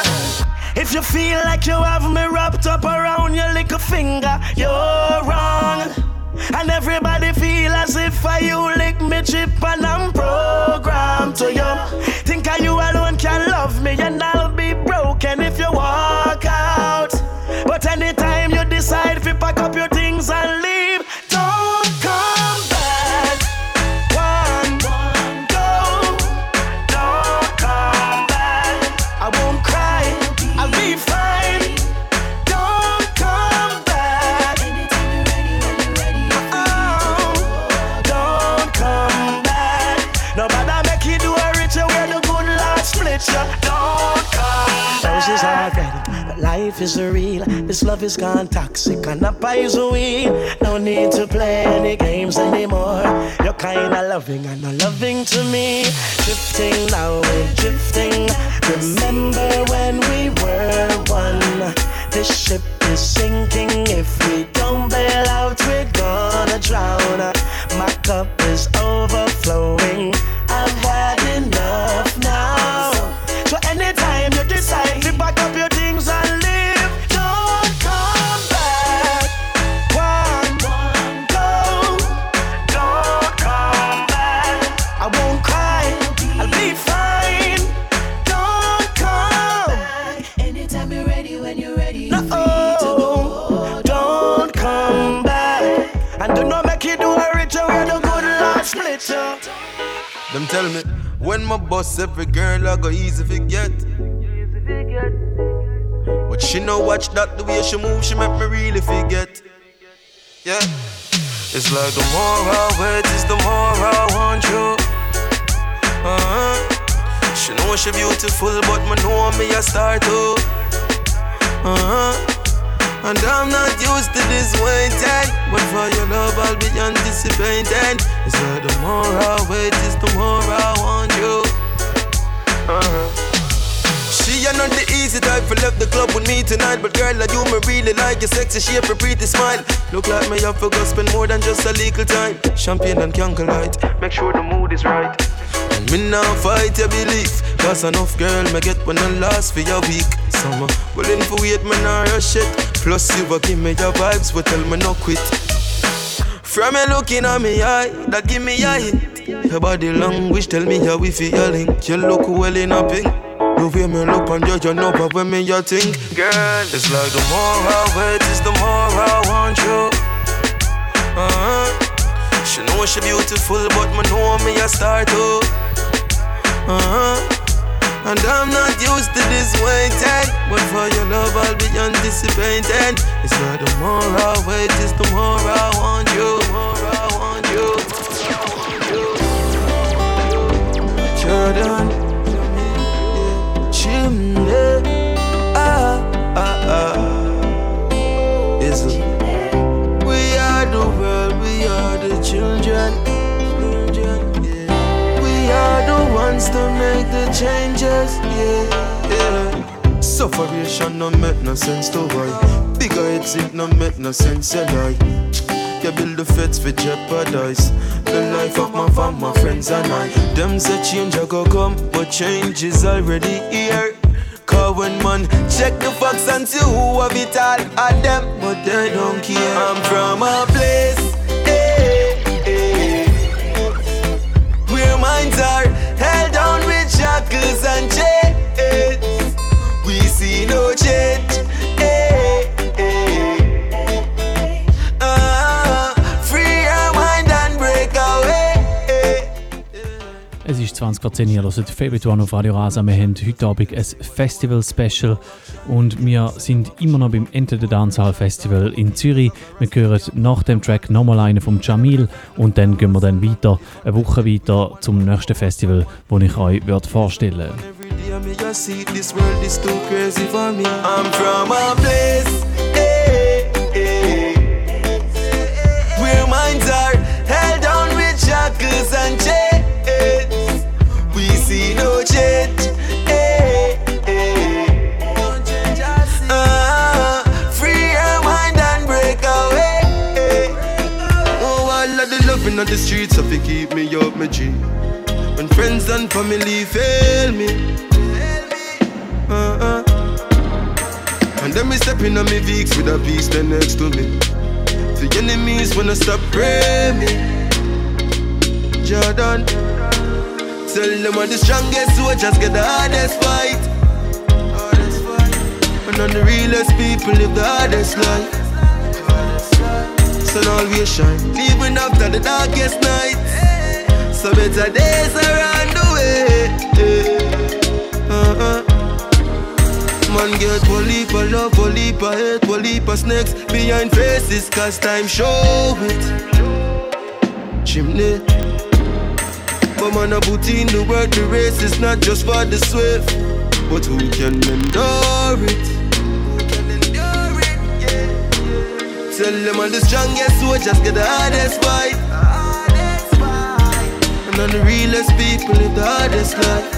If you feel like you have me wrapped up around your little finger, you're wrong. And everybody feel as if I you lick me chip and I'm programmed to you. Think I you alone can love me and I'll be broken if you walk out. But anytime you decide to pack up your things and leave, don't come back. One, go, don't come back. I won't cry, I'll be fine. Don't come back. Oh, don't come back. Nobody make you do a ritual where the good Lord split you. Don't come back. Roses are red, but life is real. This love is gone toxic and a poison. No need to play any games anymore. You're kinda loving and not loving to me. Drifting now, we're drifting. Remember when we were one? This ship is sinking. If we don't bail out, we're gonna drown. My cup is overflowing. I've had enough now. So anytime you decide to pack up your things and leave, don't come back. One, go, don't come back. I won't cry, I'll be fine. Don't come back. Anytime you're ready, when you're ready, no, oh, don't come back. And do not make you do a ritual where the good Lord split you.
Them tell me, when my boss every girl I go easy forget. But she no watch that the way she move, she make me really forget. Yeah, it's like the more I wait, is the more I want you. Uh-huh. She know she beautiful, but me know me a star too. Uh-huh. And I'm not used to this waiting, but for your love I'll be anticipating. It's like the more I wait, is the more I want you. Uh-huh. She are not the easy type for left the club with me tonight, but girl, I do me really like your sexy shape, your pretty smile. Look like me have to go spend more than just a little time. Champagne and candlelight, make sure the mood is right. And me now fight your belief, cause enough girl me get when I last for your week. Summer, willing for wait, me nah rush it. Plus you will give me your vibes, but tell me no quit. From you looking at me eye, that give me a hint. Your body language tell me how we feel link. You look well in a pink. The way me look on you, you know but when me you think. Girl, it's like the more I wait, is the more I want you. Uh-huh. She know she beautiful, but me know me a star too. Uh-huh. And I'm not used to this waiting, but for your love I'll be anticipating. It's like the more I wait, is the more I want you. The more I want you.
Jordan, chimney, ah, ah, ah. Is it? We are the world, we are the children, children, yeah. We are the ones to make the changes, yeah, yeah. Sufferation no make no sense to why. Bigger heads it no make no sense, you lie. You build the feds for jeopardize the life of my fam, my friends and I. Them say change a go come, but change is already here. Cause when man check the facts and see who have it all at them, but they don't care. I'm from a place, hey, hey, where minds are held down with shackles and chains. We see no change, hey, hey. Uh, free your mind and break away.
Es ist zwanzig vor zehn, ihr hört Favorite One auf Radio Rasa. Wir haben heute Abend ein Festival-Special und wir sind immer noch beim Enter the Dancehall Festival in Zürich. Wir hören nach dem Track nochmal einen vom Jamil und dann gehen wir dann weiter, eine Woche weiter zum nächsten Festival, das ich euch würde vorstellen würde.
I'm from a place, hey, hey, where minds are held down with shackles and chains. We see no change, hey, hey. Uh, free your mind and break away. Oh, all of the loving on the streets of it keep me up my G. When friends and family fail me, uh-uh. And then me stepping on me Vicks with a beast there next to me. The enemies wanna stop praying me. Jordan, tell them I'm the strongest soldiers get the hardest fight. And on the realest people live the hardest life. Sun always shine, even after the darkest night. So better days around the way. Uh-uh. Man get one leap of love, one leap of hate, one leap of snakes behind faces, cause time show it. Chimney. But man a put in the work, the race is not just for the swift, but who can endure it? Who can endure it, yeah, yeah. Tell them all the strongest soldiers get the hardest fight. And all the realest people live the hardest life.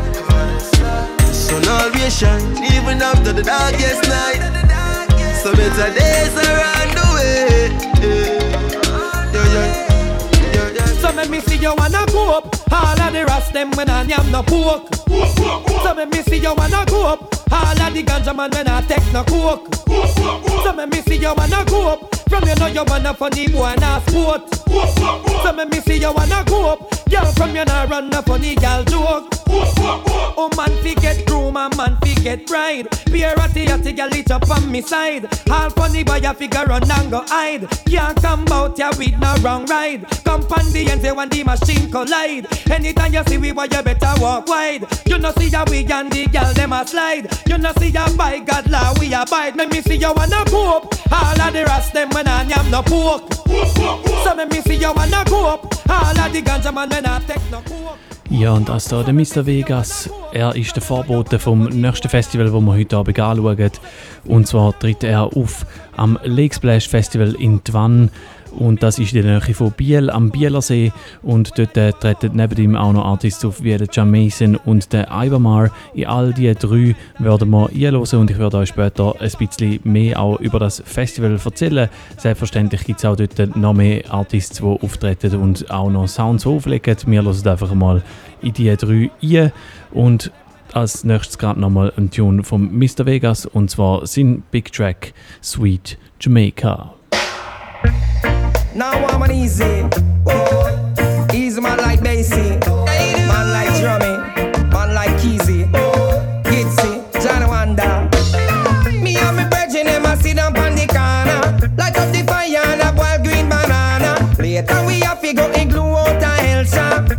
Sun always shine, even after the darkest night. So better days around the way. Yeah, yeah, yeah, yeah.
So make me see you wanna go up. All of the rest them when I am no pork. So make me see you wanna go up. All of the ganja man when I take no coke. So make me see you wanna go up. From you know you wanna funny boy and a sport. So make me see you wanna go up. Girl from you know run a funny girl joke. Oh man fi get groom and man fi get bride. Be a ratty ratty girl it up on me side. All funny boy a figure run and go hide. Can't come out ya with no wrong ride. Come pan the end say when the machine collide. Anytime you see we boy you better walk wide. You know see ya we and the girl them a slide. You know see ya by God law we abide. Make me see you wanna go up. All of the rest them when I am no pork. So make me see you wanna go up. All of the ganja man when I take no coke.
Ja, und das da der Mister Vegas, er ist der Vorbote vom nächsten Festival, das wir heute Abend anschauen. Und zwar tritt er auf am Lake Splash Festival in Twann. Und das ist in der Nähe von Biel am Bielersee. Und dort äh, treten neben ihm auch noch Artists auf wie der Jamason und der Ibermar. In all diese drei werden wir einhören und ich werde euch später ein bisschen mehr auch über das Festival erzählen. Selbstverständlich gibt es auch dort noch mehr Artists, die auftreten und auch noch Sounds auflegen. Wir hören einfach mal in diese drei ein. Und als nächstes gerade nochmal ein Tune von Mister Vegas und zwar sein Big Track Sweet Jamaica.
Now I'm an easy, oh. Easy man like Basie, man like Drummy, man like Keezy, Gitsy, Johnny Wanda. Me and me virgin them a sit down on the corner, light up the fire and a boiled green banana. Later we have to go and glue out a hell shop.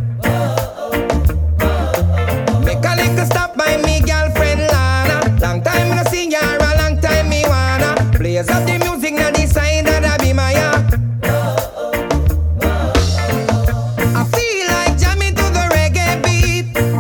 Make a little stop by me girlfriend Lana. Long time no see her, a long time me wanna. Blaze up the music now the side that I be my yard. I feel like jamming to the reggae beat.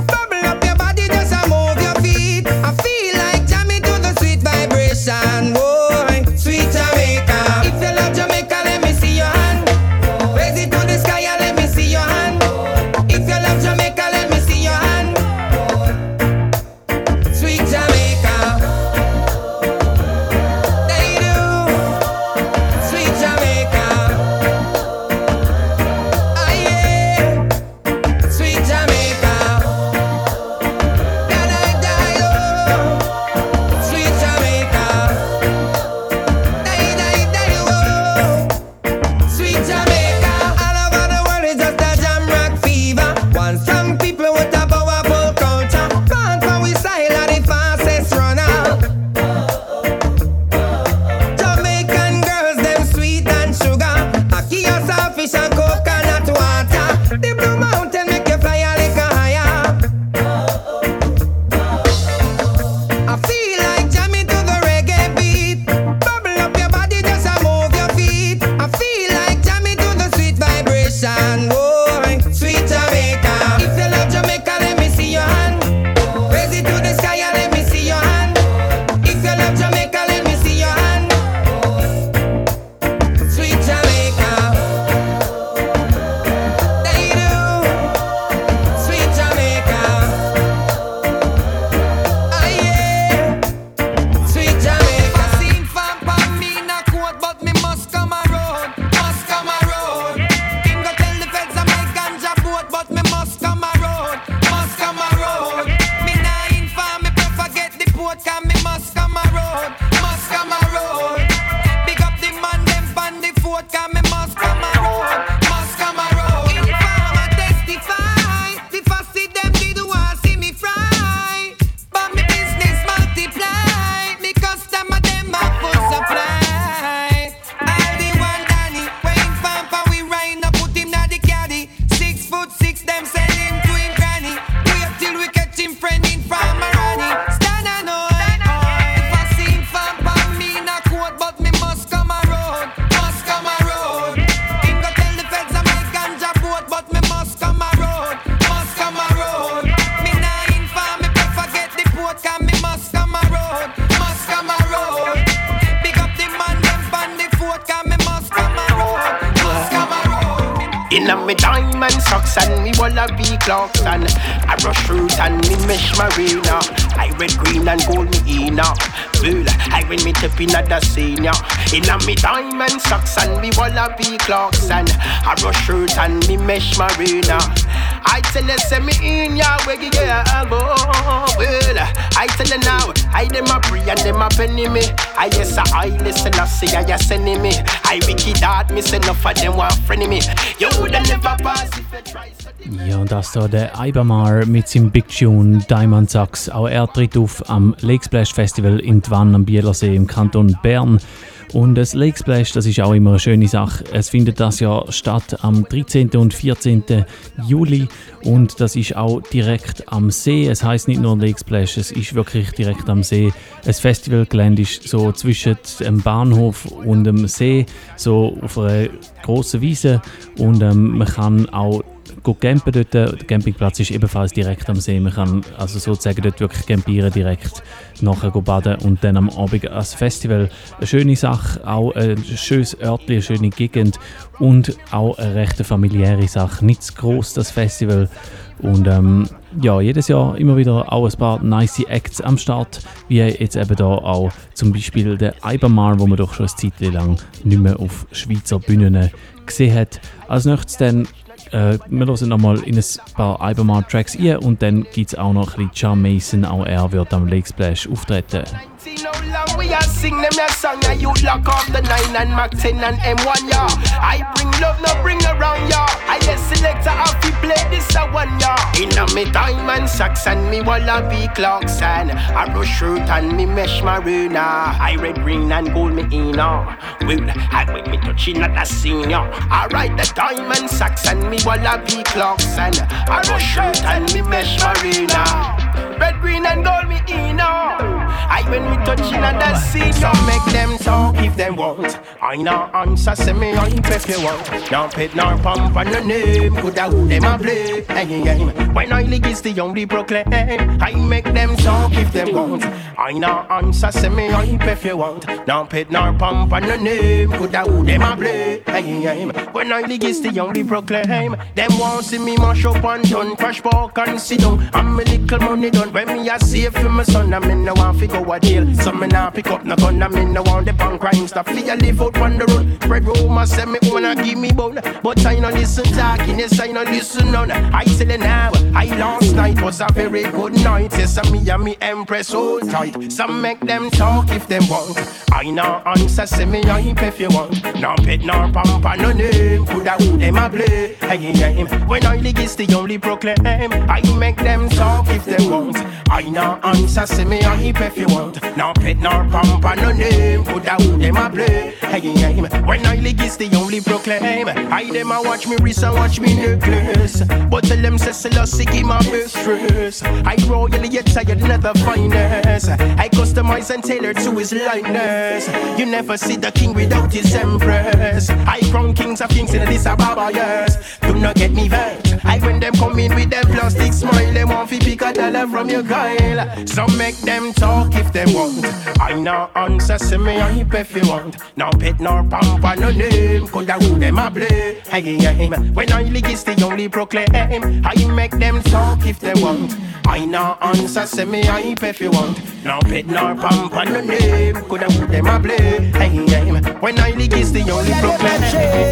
In a me diamond socks and me wallaby clocks and I rush root and me mesh marina. I red, green and gold me in now. Bull, I when me tip in at the senior. In a me diamond socks and me wallaby clocks and I rush root and me mesh marina. I tell you, send me in ya, where you get elbow. Well, I tell you now, I dem a pray and dem a penny me. I yes I listen, I say I just sending me. I wicked that me say enough of them want friendly me. You woulda never pass if you try.
Ja, und das da der Ibamar mit seinem Big Tune Diamond Sax. Auch er tritt auf am Lake Splash Festival in Twann am Bielersee im Kanton Bern. Und das Lake Splash, das ist auch immer eine schöne Sache. Es findet das Jahr statt am dreizehnten und vierzehnten Juli und das ist auch direkt am See. Es heisst nicht nur Lake Splash, es ist wirklich direkt am See. Das Festivalgelände ist so zwischen dem Bahnhof und dem See, so auf einer grossen Wiese und ähm, man kann auch gut campen dort. Der Campingplatz ist ebenfalls direkt am See. Man kann also sozusagen dort wirklich campieren, direkt nachher baden und dann am Abend als Festival. Eine schöne Sache, auch ein schönes Örtchen, eine schöne Gegend und auch eine recht familiäre Sache. Nicht zu gross, das Festival. Und ähm, ja, jedes Jahr immer wieder auch ein paar nice Acts am Start, wie jetzt eben da auch zum Beispiel der Ibamar, wo man doch schon eine Zeit lang nicht mehr auf Schweizer Bühnen gesehen hat. Als nächstes dann Äh, wir hören nochmal in ein paar Ibamar-Tracks ein und dann gibt es auch noch ein bisschen John Mason, auch er wird am Lake Splash auftreten.
See how long we are sing them your song and you lock off the nine and Mac ten and M one, yeah. I bring love, no bring around, yeah. I yes selector off you play this a one, yeah. In a me diamond socks and me wallaby clocks and a rush shirt and me mesh marina. I red, green and gold me in, yeah. Well, I with me touching at the scene, yeah. I ride the diamond socks and me wallaby clocks and a rush shirt and me mesh marina. Red, green and gold me in, yeah. I when me touching at the scene, so make them talk if they want. I no answer, say me I if you want. No pet nor pump on the name, coulda who them a play. Hey, hey, when I lick is the only proclaim. I make them talk if they want. I no answer, say me I if you want. No pet nor pump on the name, coulda who them a play. Hey, hey, when I lick is the only proclaim. Them want see me mash up and done, crash park and sit down. I'm a little money done when me a save for my son. I mean no one fi go a jail. So me nah pick up no gun. I mean no want the punk crime stuff. Flee a live out on the road. Red Roma say me wanna give me bone, but I no listen talking. Yes I no listen none. I tell you now, I last night was a very good night. Yes and me and me empress hold tight. Some make them talk if them want. I no answer say me hype if you want. No pet nor pamper no name. Coulda who them a play. Hey, hey, when I lick is the only proclaim. I make them talk if they want. I no answer say me hype if you want. No pet nor pamper no name. Coulda who them a play. Hey, hey, when I lick is the only proclaim. I them a watch me wrist and watch me necklace. But tell them say Selassie give my best dress. I royally yet tired never finest. I customize and tailor to his likeness. You never see the king without his empress. I crown kings of kings in this Ababa, yes. Do not get me vexed. I when them come in with them plastic smile, them want fi pick a dollar from your Kyle. So make them talk if they want. I no answer say me hype if you want. No pet nor pamper no name. Coulda who them a play. Hey, hey, when I lick is the only proclaim. I make them talk if they want. I no answer say me hype if you want. No pet nor pamper no name. Coulda who them a play. Hey, hey, when I lick is the only proclaim.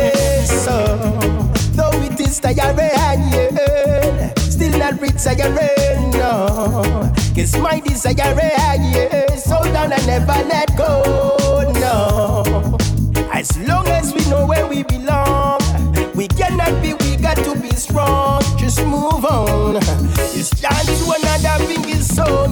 So, though it is tiring, still not rich tiring, no. Cause my desire, yes, so down and never let go, no. As long as we know where we belong, we cannot be, we got to be strong. Just move on. It's time to another thing is so,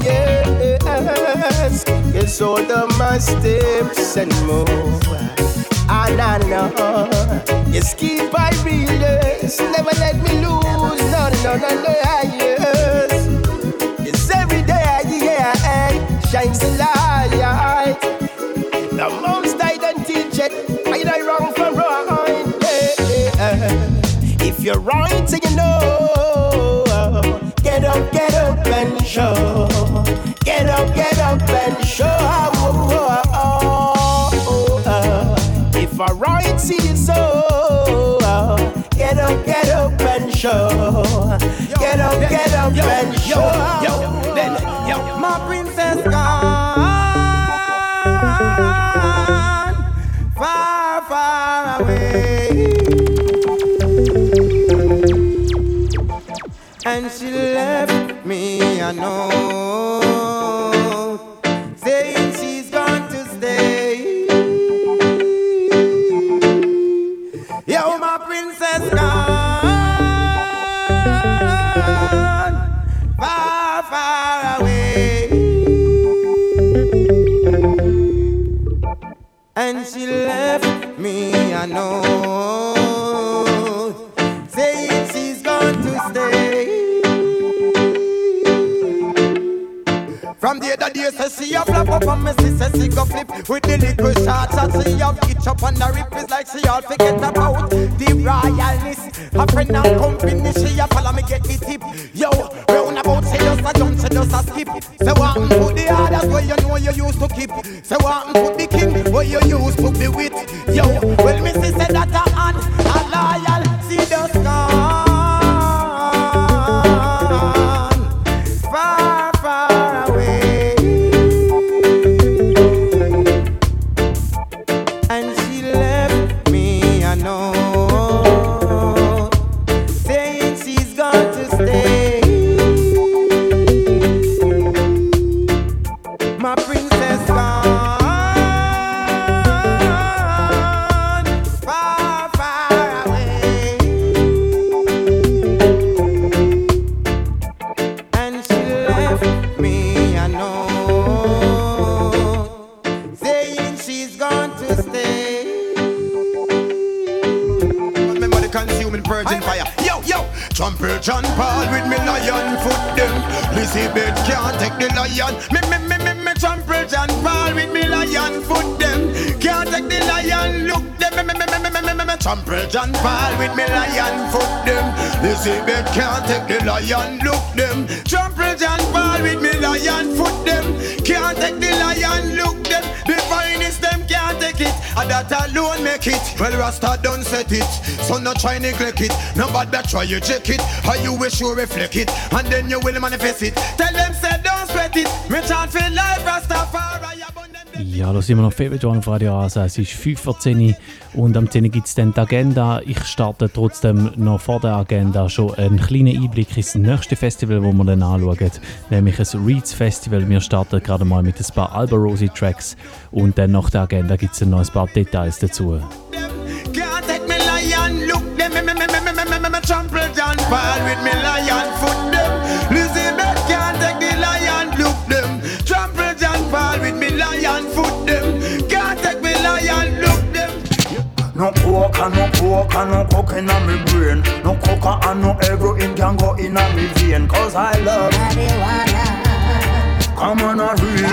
yes. Yes, all the my steps and move. And I know, yes, keep my readers, never let me lose, no, no, no, no, yes. It's every day, yeah, and shines the light. The most I don't teach it, I die wrong for right, yeah. If you're right, so you know, get up, get up and show. Get up, get up and show. Oh, oh, oh, oh, oh. If I right, see it so. Get up, get Yo, yo, then, yo.
My princess gone far, far away, and she left me a note saying she's going to stay. Yo, my princess gone far, far away, and she left me a note saying she's going to stay. From the other day, say she a flap up on me, she say she go flip with the little shots that she have itch up on the rip. It's like she all forget about the royalness. Her friend and company, she a follow me get the tip. Yo, round about she just a jump, she just a skip. Say what and put the others where you know you used to keep. Say what and put the king where you used to be with. Yo, well me she say that a hand, a loyal, she just gone far, far away, and she left me a note saying she's going to stay. My princess gone far, far away, and she left me a note saying she's going to stay.
Remember the consuming virgin fire. Yo, yo, Trumpet John Paul with me lion foot them. Lizzie Beth can't take the lion. Me, me, me, me, me, Trumpet John Paul with me lion foot them. Can't take the lion, look them. Me, me, me, me, me, me, me, me, Trumpet John Paul with me lion foot them. Lizzie Beth can't take the lion, look them. Trumpet John Paul with me lion foot them. Can't take the lion, look them. The finest them can't take it, and that alone make it. Well, Rasta don't set it, so no try neglect it. No bad that try you check it, how you wish you reflect it, and then you will manifest it. Tell them say don't sweat it, me chant for life Rastafari.
Ja, da sind wir noch Favorite One auf Radio Rasa. Es ist fünf vor zehn und am zehn gibt es dann die Agenda. Ich starte trotzdem noch vor der Agenda schon einen kleinen Einblick ins nächste Festival, das wir dann anschauen, nämlich ein Reeds Festival. Wir starten gerade mal mit ein paar Alberosi Tracks und dann nach der Agenda gibt es dann noch ein paar Details dazu.
Can't take me lion, look them, me, me, me, me, me, me, me, me, trample John Paul with me lion foot them. Lizzie Beth can't take the lion, look them. Trample John Paul with me lion foot them. Can't take me lion, look them.
No coke and no coke and no coke in my brain. No coke and no heroin can go in my vein. Cause I love marijuana. Come on a real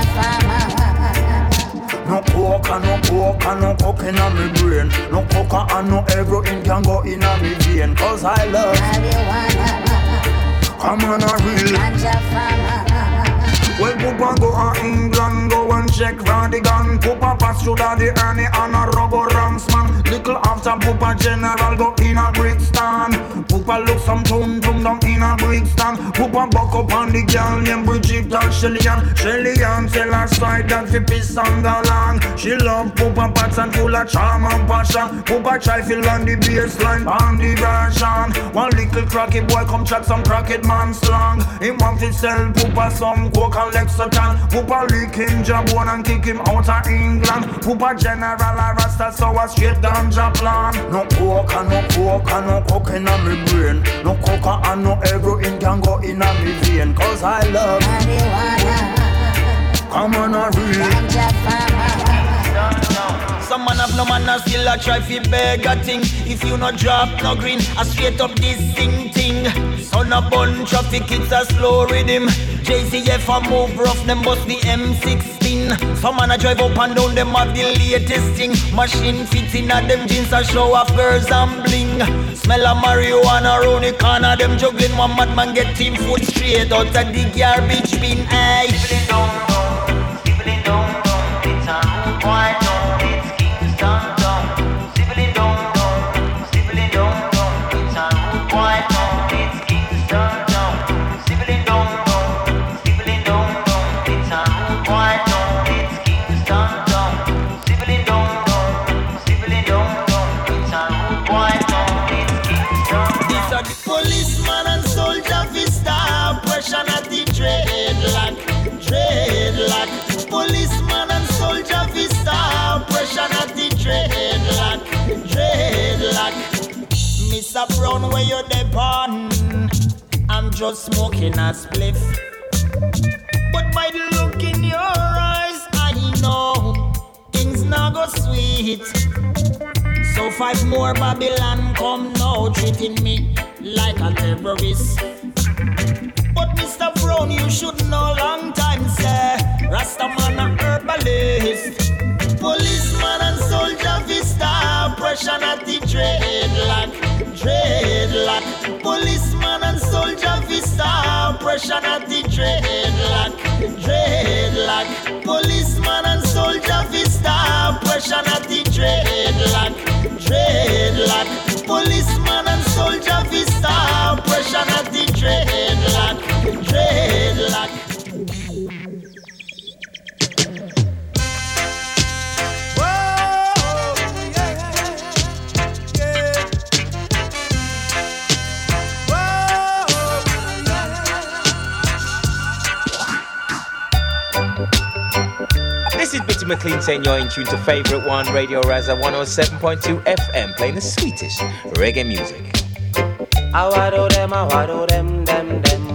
no coke and no coke and no coke in my brain. No coke and no heroin can go in my vein. Cause I love marijuana. Come on a real well, Poopa go to England, go and check for the gun. Poopa pass through the Ernie and a rubber ranks man. Little after Poopa General go in a Brixton. Poopa look some tune from down in a Brixton. Poopa buck up on the girl named Bridget and Shelly-Ann. Shelly-Ann tell her side that fi piss on the land. She love Poopa Pats and full of charm and passion. Poopa try feel on the baseline on the version. One little cracky boy come chat some cracked man slang. He want to sell Poopa some coke and Lexington. Poopa lick him jabon and kick him out of England. Poopa General a Rasta so a straight ganja plan. No coke and no coke and no coke in my brain. No coke and no heroin can go in my vein. Cause I love marijuana. Come on a real ganja farmer. Some man have no man and still a try fi beg a thing. If you no drop no green, a straight up this thing thing. Son a bun traffic, it's a slow rhythm. J C F a move rough, them bust the M sixteen. Some man a drive up and down, them have the latest thing. Machine fits in a them jeans a show off girls and bling. Smell a marijuana round the corner, them juggling. One madman get team foot straight out of the garbage bin. Aye. People don't know, people don't know, it's a rude boy. Don't
just smoking a spliff. But by the look in your eyes, I know things not go sweet. So five more Babylon come now, treating me like a terrorist. But Mister Brown, you should know long time, sir. Rastaman a herbalist. Policeman and soldier vista. Pressure at the dreadlock, dreadlock. Policeman and soldier vista. Pressure at the dreadlock, dreadlock. Policeman and soldier vista. Pressure at the dreadlock, dreadlock. Policeman and soldier vista. Pressure at the dreadlock, dreadlock.
This is Bitty McLean saying you're in tune to Favourite One, Radio Raza one oh seven point two F M, playing the sweetest reggae music.
I wado them, I wado them, them, them.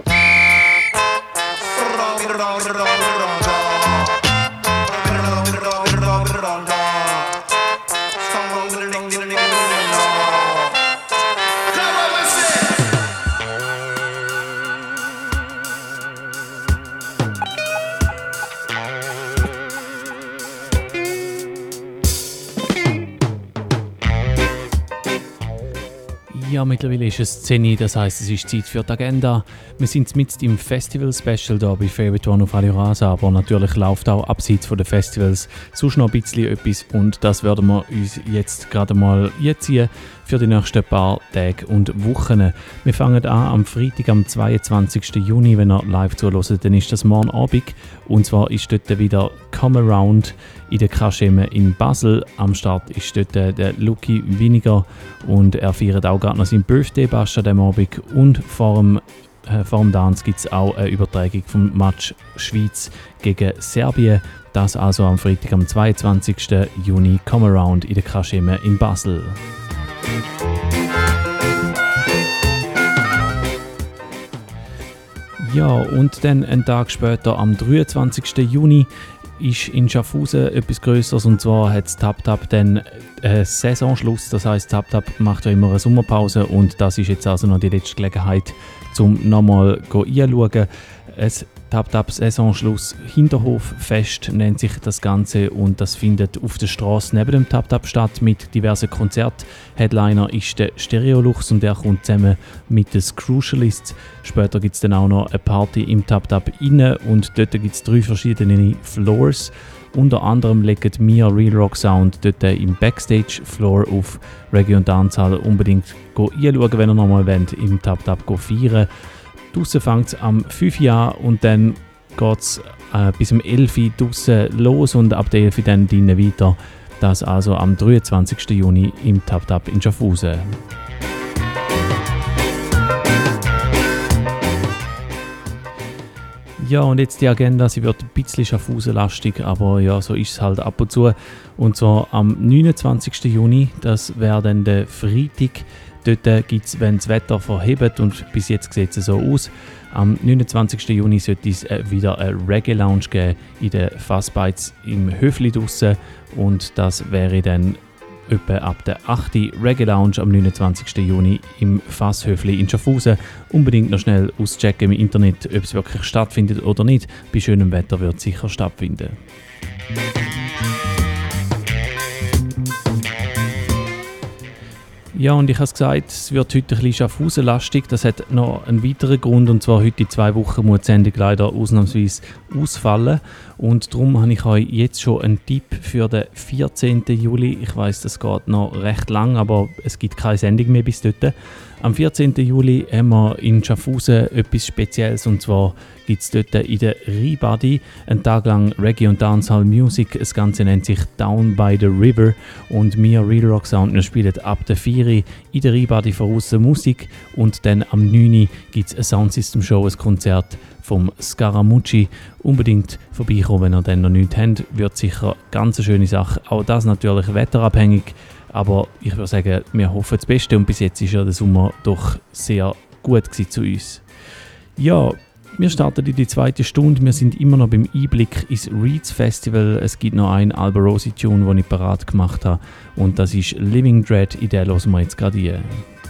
Ja, mittlerweile ist es zehn Uhr, das heisst, es ist Zeit für die Agenda. Wir sind mitten im Festival-Special hier bei Favourite One auf Radio Rasa, aber natürlich läuft auch abseits von den Festivals sonst noch ein bisschen etwas und das werden wir uns jetzt gerade mal einziehen für die nächsten paar Tage und Wochen. Wir fangen an am Freitag, am zweiundzwanzigsten Juni, wenn ihr live zuhört, dann ist das morgen Abend und zwar ist dort wieder Come Around in der Kaschemme in Basel. Am Start ist dort der Lucky Winiger und er feiert auch gerade noch seinen Birthday-Bash an diesem Abend und vor dem, äh, vor dem Dance gibt es auch eine Übertragung vom Match Schweiz gegen Serbien. Das also am Freitag, am zweiundzwanzigsten Juni, Come Around in der Kaschemme in Basel. Ja, und dann einen Tag später, am dreiundzwanzigsten Juni, ist in Schaffhausen etwas Größeres und zwar hat Tap Tap dann äh, Saisonschluss, das heisst Tap Tap macht ja immer eine Sommerpause und das ist jetzt also noch die letzte Gelegenheit, um nochmal reinschauen. Es Tap Tap Saisonschluss Hinterhoffest nennt sich das Ganze und das findet auf der Straße neben dem Tap Tap statt mit diversen Konzerten. Headliner ist der Stereolux und der kommt zusammen mit den Crucialists. Später gibt es dann auch noch eine Party im Tap Tap inne und dort gibt es drei verschiedene Floors. Unter anderem legt Mia Real Rock Sound dort im Backstage-Floor auf. Reggae und Dancehall unbedingt reinschauen, wenn ihr nochmal wollt, im Tap Tap feiern. Draussen fängt es am fünf Uhr an und dann geht es äh, bis um elf Uhr draussen los und ab der elf Uhr dann drinnen weiter. Das also am dreiundzwanzigsten Juni im Tap Tap in Schaffhausen. Ja, und jetzt die Agenda, sie wird ein bisschen Schaffhausen-lastig, aber ja, so ist es halt ab und zu. Und zwar am neunundzwanzigsten Juni, das wäre dann der Freitag. Dort gibt es, wenn das Wetter verhebt und bis jetzt sieht es so aus, am neunundzwanzigsten Juni sollte es wieder eine Reggae-Lounge geben in den Fassbites im Höfli draussen und das wäre dann etwa ab der achten Reggae-Lounge am neunundzwanzigsten Juni im Fasshöfli in Schaffhausen. Unbedingt noch schnell auschecken im Internet, ob es wirklich stattfindet oder nicht. Bei schönem Wetter wird es sicher stattfinden. Ja, und ich habe es gesagt, es wird heute ein bisschen Schaffhausen-lastig. Das hat noch einen weiteren Grund, und zwar heute in zwei Wochen muss die Sendung leider ausnahmsweise ausfallen. Und darum habe ich euch jetzt schon einen Tipp für den vierzehnten Juli. Ich weiss, das geht noch recht lang, aber es gibt keine Sendung mehr bis dort. Am vierzehnten Juli haben wir in Schaffhausen etwas Spezielles, und zwar gibt es dort in der Ribadi einen Tag lang Reggae und Dancehall Music. Das Ganze nennt sich Down by the River und wir Real Rock Sound wir spielen ab der vier Uhr in der Ribadi voraus Musik und dann am neun Uhr gibt es eine Soundsystem Show, ein Konzert vom Scaramucci. Unbedingt vorbeikommen, wenn ihr dann noch nichts habt, wird sicher ganz eine schöne Sache. Auch das natürlich wetterabhängig, aber ich würde sagen, wir hoffen das Beste und bis jetzt ist ja der Sommer doch sehr gut gewesen zu uns. Ja, wir starten in die zweite Stunde. Wir sind immer noch beim Einblick ins Reeds Festival. Es gibt noch einen Alberosi-Tune, den ich parat gemacht habe. Und das ist Living Dread. In den hören wir jetzt gerade rein.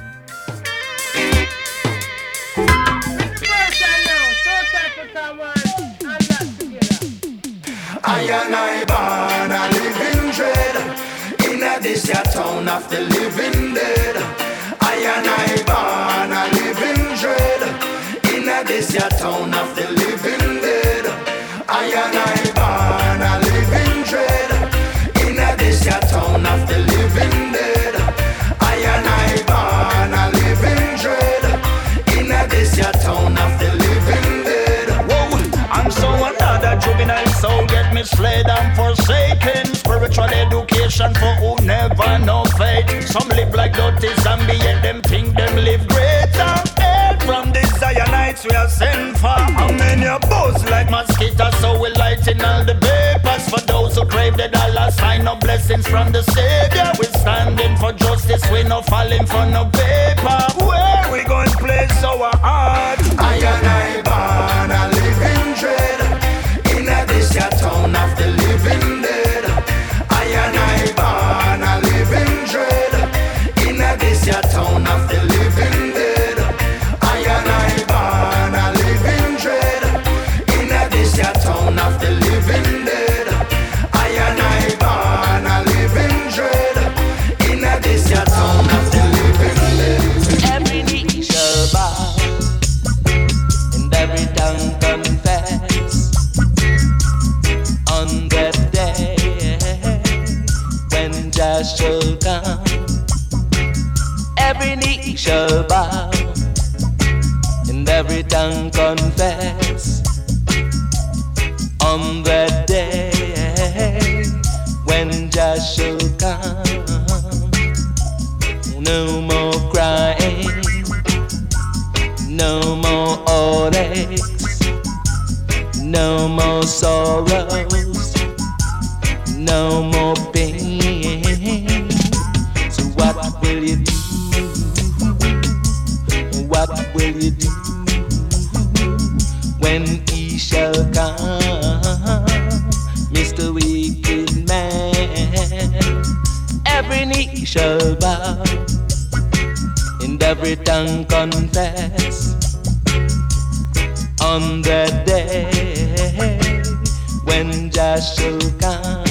I and I born a living dread in a this ya town of the living dead. I and I born a living dread in a this ya town of the living dead. I and I born a living dread in a this ya town of the living dead. I and I born a living dread in a this ya town of the living dead. Whoa, and so another juvenile soul get misled and forsaken. Spiritual education for who never know faith. Some live like dirty zombie yet them think them live greater. Help from the Zionites we are sent for. How many are buzz like mosquitoes, so we lighten all the vapors. For those who crave the dollar sign of blessings from the Savior. We standing for justice, we no falling for no paper. Where we going place our heart? I and I born a living dread in a this ya town of the living dead. I and I born a living dread in a this ya town of the living dead. I and I born a living dread in a this ya town of the living dead. I and I born a living dread in a this ya town of the living dead.
Every knee shall bow and every tongue confess on that day when Jah shall come. Every knee shall bow and every tongue confess on that day when Jah shall come. No more crying, no more heartaches, no more sorrows, no more pain. So what will you do? What will you do when he shall come, Mister Wicked Man? Every knee shall bow and every tongue confess on that day when Jah shall come.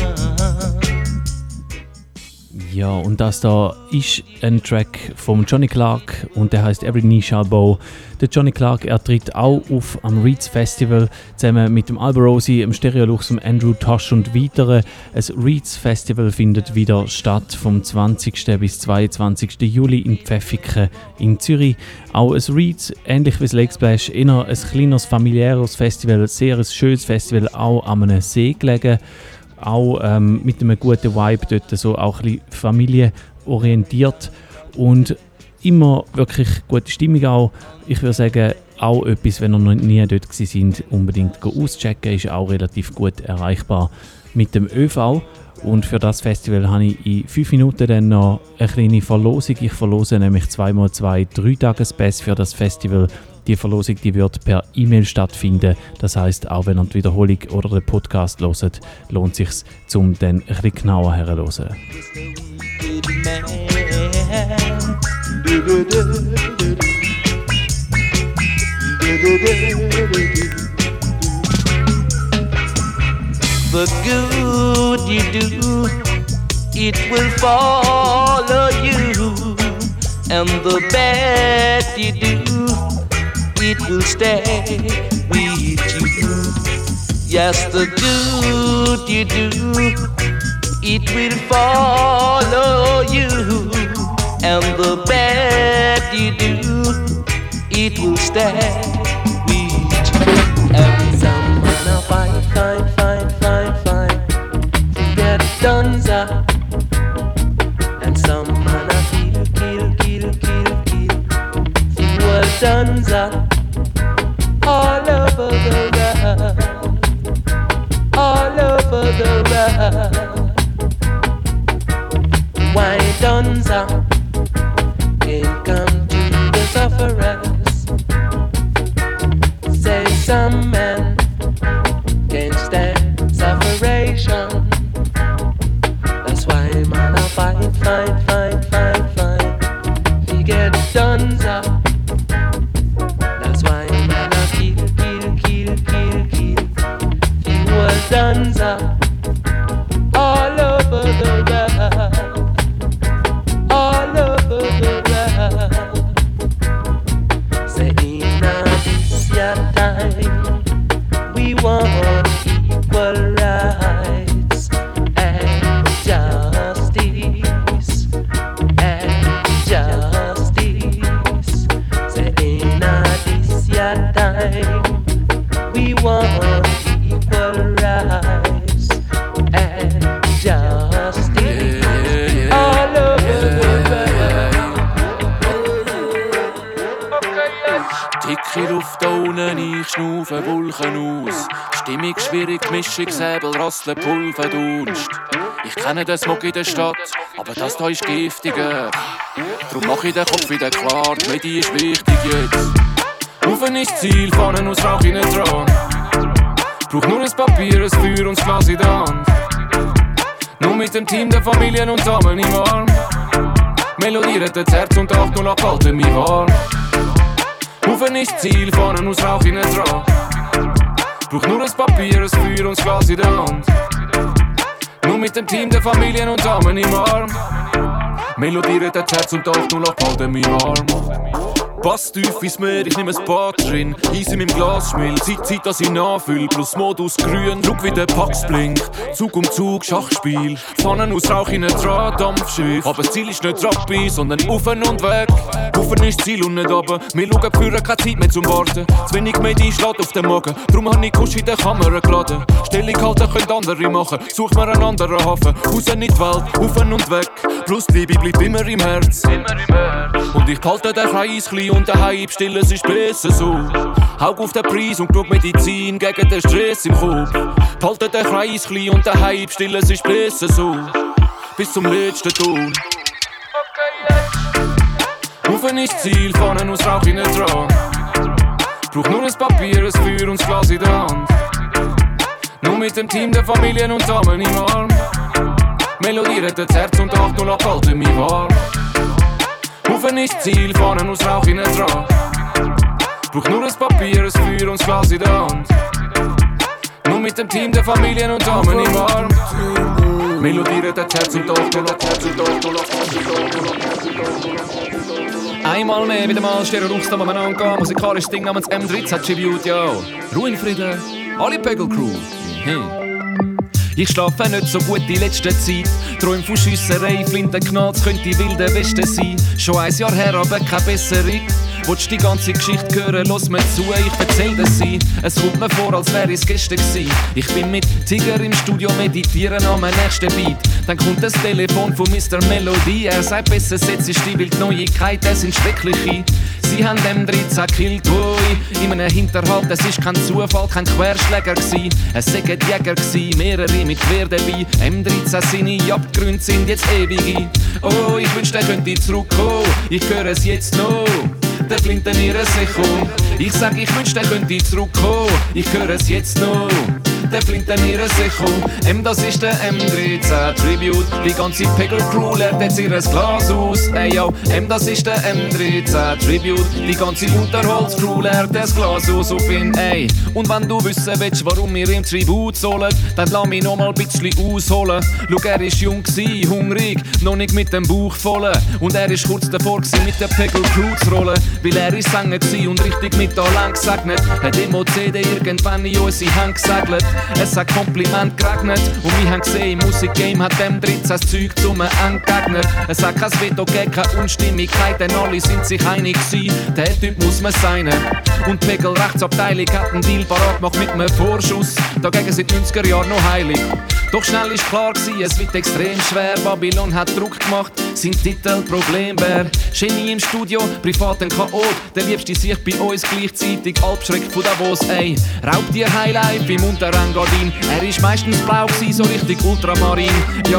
Ja, und das da ist ein Track von Johnny Clark und der heißt Every Knee Shall Bow. Der Johnny Clark, er tritt auch auf am Reeds Festival zusammen mit dem Alberosi, dem Stereolux, dem Andrew Tosh und weiteren. Ein Reeds Festival findet wieder statt vom zwanzigsten bis zweiundzwanzigsten Juli in Pfäffiken in Zürich. Auch ein Reeds, ähnlich wie das Lake Splash, eher ein kleineres, familiäres Festival, sehr ein schönes Festival, auch an einem See gelegen. Auch ähm, mit einem guten Vibe dort, so auch ein bisschen familienorientiert und immer wirklich gute Stimmung auch. Ich würde sagen, auch etwas, wenn ihr noch nie dort gewesen sind, unbedingt auschecken, ist auch relativ gut erreichbar mit dem ÖV. Und für das Festival habe ich in fünf Minuten dann noch eine kleine Verlosung. Ich verlose nämlich zweimal zwei Drei-Tages-Pass für das Festival. Die Verlosung die wird per E-Mail stattfinden. Das heisst, auch wenn ihr die Wiederholung oder den Podcast hört, lohnt es sich, um dann ein bisschen genauer herzuhören.
The good you do, it will follow you, and the bad you do, it will stay with you. Yes, the good you do, it will follow you, and the bad you do, it will stay with you. And some wanna fight, fight, fight, fight, fight to get done, sir. And some wanna kill, kill, kill, kill, kill see what's done, sir. All over the world, all over the world. Why done, sir? Can't come to the sufferers. Some men can't stand separation. That's why man I fight, fight, fight, fight, fight. We get done up. That's why man I kill, kill, kill, kill, kill. He was done up. All over the world, all over the world. Say in this your time, we want equal rights and justice and justice. Say in this your time, we want equal rights and justice, yeah, yeah, all over the world. Dicke Luft da unten, ich schnaufe Wolken aus. Stimmung schwierig, Mischung, Säbel, Rasseln, Pulver, Dunst. Ich kenne den Smog in der Stadt, aber das da ist giftiger. Drum mach ich den Kopf wieder klar, die Medi ist wichtig jetzt. Rufen ist das Ziel, Fahnen aus Rauch in den Dran. Brauch nur ein Papier, ein Feuer und das Glas in der Hand. Nur mit dem Team der Familien und Damen im Arm. Melodiert das Herz und acht null acht halten mich warm. Rufen ist das Ziel, Fahnen aus Rauch in den Dran. Brauch nur ein Papier, ein Feuer und das Glas in der Hand. Nur mit dem Team der Familien und Damen im Arm. Melodiert das Herz und acht null acht halten mich warm. Pass tief ins Meer, ich nehm ein Bad drin. Eis in meinem Glas schmilzt, Zeit, Zeit, dass ich nachfüll. Plus Modus grün, schau wie der Pax blinkt. Zug um Zug, Schachspiel. Pfannen aus Rauch in ein Draht, Dampfschiff. Aber das Ziel ist nicht Rappi, sondern Ufen und weg. Ufen ist das Ziel und nicht runter. Wir schauen für keine Zeit mehr zum Warten. Zu wenig Medi schlägt auf den Magen. Drum hab ich Kusch in der Kamera geladen. Stellung halten können andere machen. Such mir einen anderen Hafen. Raus in die Welt, Ufen und weg. Plus die Liebe bleibt immer im Herz. Und ich behalte den Kreis klein und daheim still, es ist besser so. Haug auf den Preis und schau Medizin gegen den Stress im Kopf. Behalte den Kreis klein und daheim still, es ist besser so. Bis zum letzten Ton. Rufen ist das Ziel, Fahnen aus Rauch in den Dran. Brauch nur ein Papier, ein Feuer und das Glas in der Hand. Nur mit dem Team der Familien und Damen im Arm. Melodiert das Herz und acht null acht halten mich warm. Rufen ist das Ziel, Fahnen aus Rauch in den Dran. Brauch nur ein Papier, ein Feuer und das Glas in der Hand. Nur mit dem Team der Familien und Damen im Arm. Melodiert das Herz und acht null acht Herz und acht null acht. Einmal mehr, wieder mal stehen Ruchs, da man angehen. Musikalisches Ding namens M dreizehn Tribute, ja. Ruhe in Frieden, alle Pegel Crew. Mhm. Ich schlafe nicht so gut die letzte Zeit. Träum von Schiesserei, Flintenknalls könnte die wilde Weste sein. Schon ein Jahr her, aber keine bessere. Willst die ganze Geschichte hören, lass mir zu, ich erzähl dir sie. Es kommt mir vor, als wäre es gestern gewesen. Ich bin mit Tiger im Studio, meditieren an meinem nächsten Beat. Dann kommt das Telefon von Mister Melody. Er sagt, besser setz ich die Wildneuigkeit, das sind schreckliche. Sie haben M dreizehn gekillt, oi, in einem Hinterhalt. Es ist kein Zufall, kein Querschläger gsi. Es sind Jäger gsi, mehrere mit Quer dabei. M dreizehn seine Abgründe sind jetzt ewige. Oh, ich wünschte, er könnte zurückkommen. Ich höre es jetzt noch. Der Flinten ihre Secho. Ich sag, ich wünschte, er könnte zurückkommen. Ich höre es jetzt noch. Der Flinten ihre Secho. M, das ist der M dreizehn Tribute. Die ganze Pegel Crew leert jetzt ihr Glas aus. Ey yo, M, das ist der M dreizehn Tribute. Die ganze Unterholz Crew leert das Glas aus auf ihn, ey. Und wenn du wissen willst, warum wir ihm Tribut zollen, dann lass mich noch mal ein bisschen ausholen. Schau, er ist jung gsi, hungrig, noch nicht mit dem Bauch voll. Und er ist kurz davor gsi, mit der Pegel Crew zu rollen. Weil er ist Sänger gsi und richtig mit Talent gesegnet. Hat im O C D irgendwann in unsere Hand gesegelt. Es hat Kompliment geregnet und wir haben gesehen, im Musikgame hat M dreizehn das Zeug zum entgegnet. Es hat kein Veto gegeben, keine Unstimmigkeit, denn alle sind sich einig gewesen, der Typ muss man sein. Und die Pegel Rechtsabteilung hat einen Deal parat gemacht mit einem Vorschuss, dagegen sind die neunziger Jahre noch heilig. Doch schnell ist klar gewesen, es wird extrem schwer, Babylon hat Druck gemacht, sein Titel Problembär. Genie im Studio, privat ein Chaot, der Liebste sich bei uns gleichzeitig, Albschreck von Davos, ey. Raubtier Highlife im Unterengadin, er ist meistens blau gewesen, so richtig ultramarin. Jo,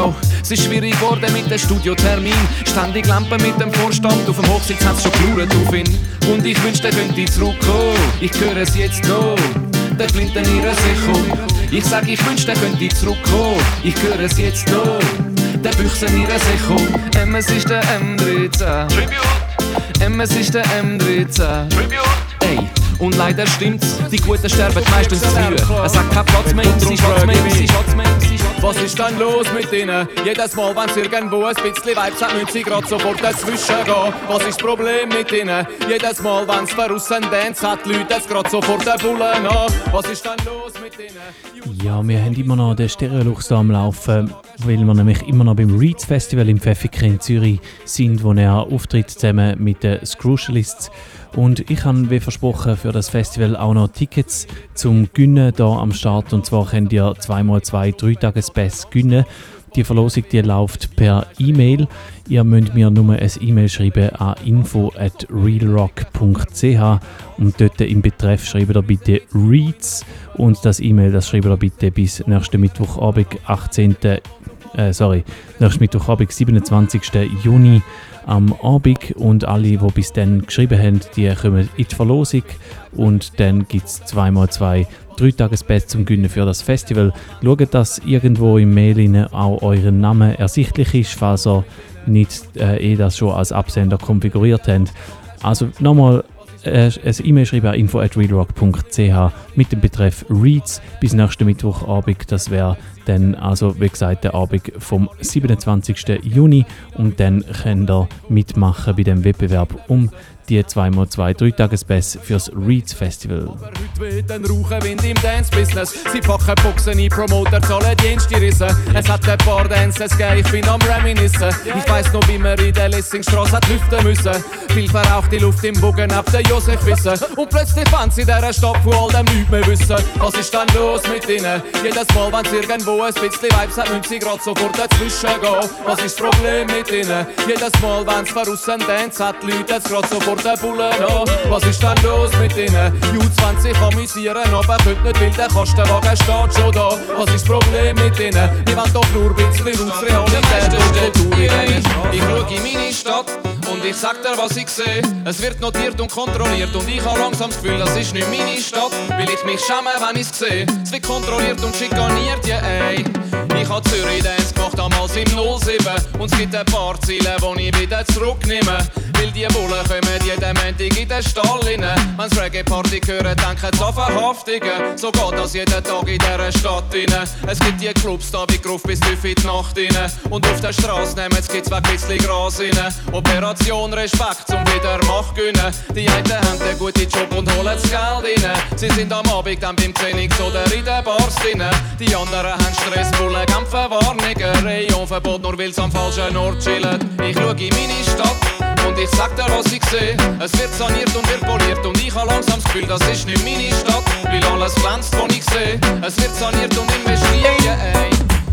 Es ist schwierig geworden mit dem Studiotermin. Ständig Lampen mit dem Vorstand. Auf dem Hochsitz hat's schon gelauert auf ihn. Und ich wünschte, er könnte zurückkommen. Ich höre es jetzt noch. Der Flinten ihre Sicher. Ich sag, ich wünschte, er könnte zurückkommen. Ich höre es jetzt noch. Der Büchsen ihre Sicher. M, es ist der M dreizehn. Tribute. M, es ist der M dreizehn. Tribute. Ey. Und leider stimmt's, die Guten sterben meistens zu früh. Es hat keinen Platz mehr, sie Schatz mehr, sie Schatz mehr. Was ist denn los mit ihnen? Jedes Mal, wenn's irgendwo ein bisschen Vibes hat, müssen sie grad sofort dazwischen gehen. Was ist das Problem mit ihnen? Jedes Mal, wenn's verrussen Dance hat, Leute es grad sofort den Bullen an. Was ist denn los mit ihnen?
Ja, wir haben immer noch den Stereolux da am Laufen, weil wir nämlich immer noch beim Reeds Festival im Pfäffiker in Zürich sind, wo er auftritt zusammen mit den Scrucialists. Und ich habe, wie versprochen, für das Festival auch noch Tickets zum Gewinnen hier am Start. Und zwar könnt ihr zwei mal zwei Dreitagespass gewinnen. Die Verlosung die läuft per E-Mail. Ihr müsst mir nur ein E-Mail schreiben an info at realrock punkt c h und dort im Betreff schreibt ihr bitte Reeds und das E-Mail das schreibt ihr bitte bis nächsten Mittwochabend, achtzehnten Äh, sorry, nächsten Mittwochabend, siebenundzwanzigsten Juni am Abend, und alle, die bis dann geschrieben haben, die kommen in die Verlosung und dann gibt es zwei mal zwei Dreitagespass zum Gewinnen für das Festival. Schaut, dass irgendwo im Mail auch euer Name ersichtlich ist, falls ihr nicht äh, eh das schon als Absender konfiguriert habt. Also nochmal äh, ein E-Mail schreiben an info at realrock punkt c h mit dem Betreff Reads bis nächsten Mittwochabend. Das wäre dann also, wie gesagt, der Abend vom siebenundzwanzigsten Juni, und dann könnt ihr mitmachen bei dem Wettbewerb um die zwei mal zwei Dreitagespass fürs Reeds Festival.
Heute weht ein Rauchenwind im Dance-Business. Sie packen Boxen ein, Promoter zahlen Dienste Rissen. Es hat ein paar Dances gegeben, ich bin am Reminiszen. Ich weiss noch, wie wir in der Lessingstrasse hat lüften müssen. Viel verrauchte Luft im Bogen ab der Josef wissen. Und plötzlich fand sie in dieser Stadt, wo all dem nichts mehr wissen. Was ist dann los mit ihnen? Jedes Mal, wenn sie irgendwo ein bisschen Vibes hat, müssen sie grad sofort dazwischen gehen. Was ist das Problem mit ihnen? Jedes Mal, wenn es verrussen Dance hat, Leute jetzt grad sofort den Bullen an. Was ist denn los mit ihnen? U zwanzig amüsieren, aber könnt nicht, weil der Kastenwagen steht schon da. Was ist das Problem mit ihnen? Die wollen doch nur ein bisschen aus Realität und Kultur in. Ich schau in meine Stadt und ich sag dir, was ich sehe. Es wird notiert und kontrolliert und ich habe langsam das Gefühl, das ist nicht meine Stadt. Will ich mich schämen, wenn ich's sehe. Es wird kontrolliert und schikaniert, ja ey. Ich hab Zürich Dance gemacht, damals im null sieben. Und es gibt ein paar Ziele, die ich wieder zurücknehme. Weil die Bullen kommen jeden Montag in den Stall rein. Wenn's Reggae-Party hören, denken sie an Verhaftungen. So geht das jeden Tag in dieser Stadt rein. Es gibt die Clubs da wie Gruft bis tief in die Nacht rein. Und auf der Straße nehmen sie gibt's ein bisschen Gras rein. Operation Respekt zum wieder Macht gewinnen. Die einen haben einen guten Job und holen das Geld rein. Sie sind am Abend dann beim Training oder in den Bars drin. Die anderen haben Stress, Bullen kämpfen Warnungen. Rayonverbot, nur weil's am falschen Ort chillen. Ich schau in meine Stadt und ich sag dir, was ich sehe. Es wird saniert und wird poliert und ich hab langsam das Gefühl, das ist nicht meine Stadt. Weil alles glänzt, was ich sehe. Es wird saniert und investiert, yeah, ey.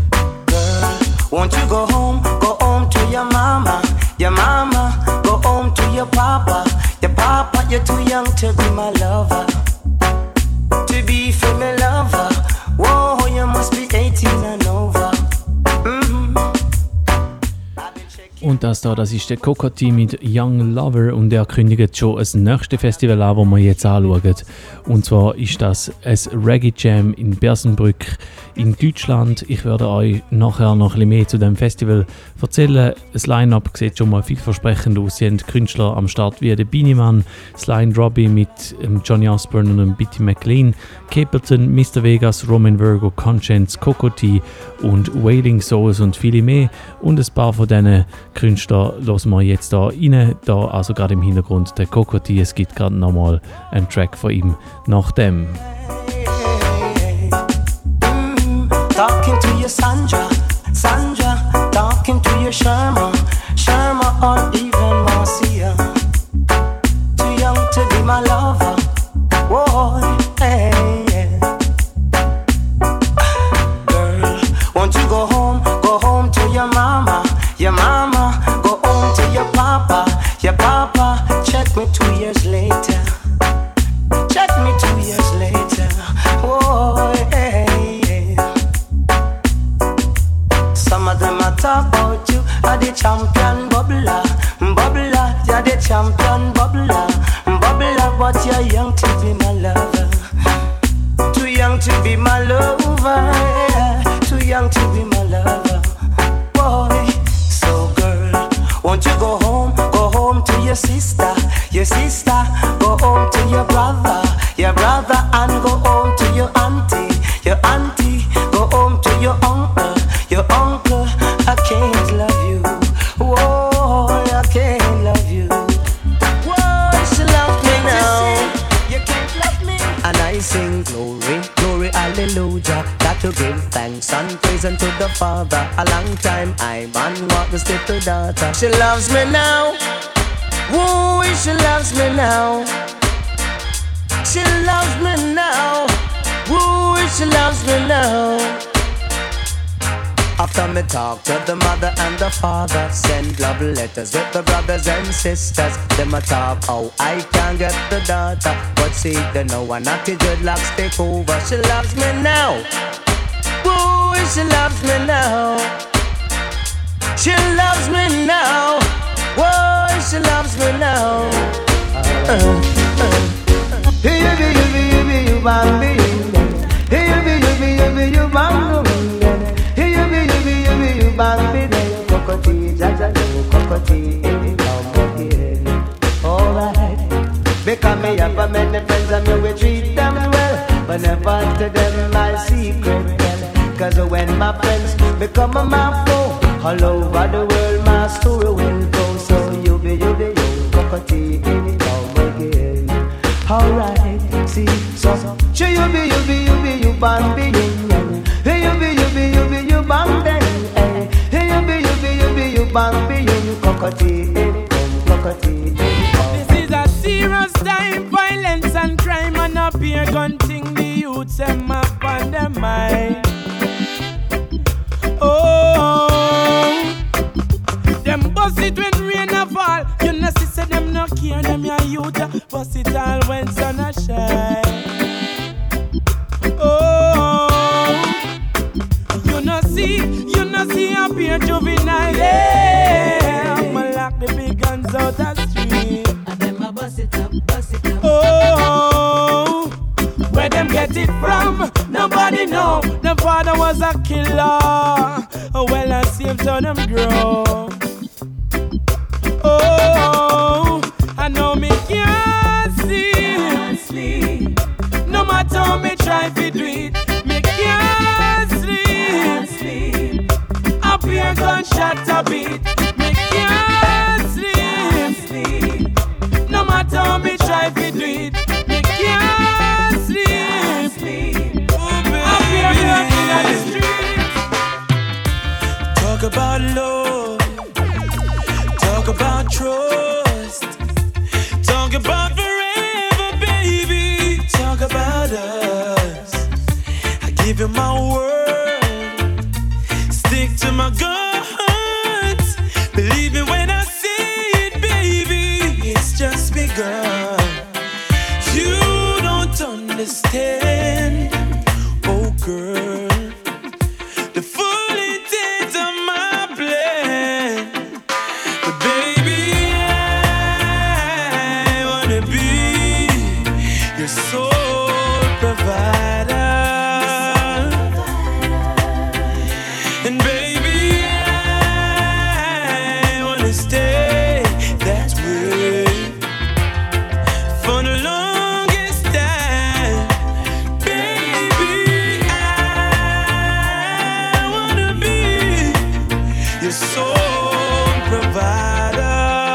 Girl, won't you go home, go home to your mama. Your mama, go home to your papa. Your papa, you're too young to be my lover. To be for my lover. Whoa, you must be eighteen and over. Mm-hmm.
Und das da, das ist der Cocotti mit Young Lover, und er kündigt schon das nächste Festival an, das wir jetzt anschauen. Und zwar ist das ein Reggae Jam in Bersenbrück in Deutschland. Ich werde euch nachher noch ein bisschen mehr zu dem Festival erzählen. Das Line-Up sieht schon mal vielversprechend aus. Sie haben Künstler am Start wie der Beanie-Man, Sly Robbie mit Johnny Osbourne und Bitty McLean, Capleton, Mister Vegas, Roman Virgo, Conscience, Cocotti und Wailing Souls und viele mehr. Und ein paar von diesen Künstlern hören wir jetzt da rein. Da also gerade im Hintergrund der Cocotti. Es gibt gerade nochmal einen Track von ihm nach dem.
Talking to your Sandra, Sandra, talking to your Sharma, Sharma or even Marcia. Too young to be my lover, whoa, hey, yeah. Girl, won't you go home, go home to your mama, your mama, go home to your papa, your papa, check me two years later, check me two years later, whoa, hey. them a talk about you. Are the champion bubbler, bubbler. You're the champion bubbler, bubbler. But you're young to be my lover. Too young to be my lover. Yeah. Too young to be my lover. Boy, so girl, won't you go home? Go home to your sister, your sister. Go home to your brother, your brother, and go home to your auntie, your auntie. Go home to your uncle, your uncle. I can't love you. Whoa, I can't love you. Whoa, she loves me now. You can't love me. And I sing glory, glory, hallelujah. Got to give thanks and praise unto the Father. A long time I man walk this little daughter. She loves me now. Whoa, she loves me now. She loves me now. Woo, she loves me now. After me talk to the mother and the father, send love letters with the brothers and sisters. Them a talk how I can get the daughter, but see they know one naughty dreadlocks take over. She loves me now. Woo, she loves me now. She loves me now. Whoa, she loves me now. Uh, uh. Hey, you be, you be, you be, you bang me. Hey, you be, you be, you be, you bang me. Hey, you be, you be, you be, you bang me. Cockatoo, jaja, cockatoo, come again. Alright, because me have a many friends and me we treat them well, but never to them my secret well. Cause when my friends become a my foe, all over the world my story will go. So you be, you be, you cockatoo, come again. Alright, see, so She you be, you be, you be, you bang be, hey you be, you be, you be, you bang then, hey you be, you be, you be, you bang be, you cockatoo, cockatoo.
This is a serious time, violence and crime, and up here gunting the youths them up on their mind. Oh, them bust it when rain a fall. You know, see, say them no care, them your youth. Bust it all when sun a shine. Oh, you know, see, you know, see up here juvenile. Yeah, I'ma lock the big guns out the street. And them a bust it up, bust it up. Oh, where them get it from? Nobody know. The father was a killer. Oh, well, I see him turn them grow. Oh, I know me can't sleep. No matter how me try to do it, me can't sleep. Up here gunshot a beat, me can't sleep. No matter how me try to do it, me can't sleep. Up here gunshot on the street.
Talk about love. Talk about trust. Talk about forever, baby. Talk about us. I give you my word. Stick to my guns. Believe me when I say it, baby. It's just begun. You don't understand, oh girl. The full intent of my plan. Soul provider, and baby, I wanna stay that way for the longest time. Baby, I wanna be your soul provider.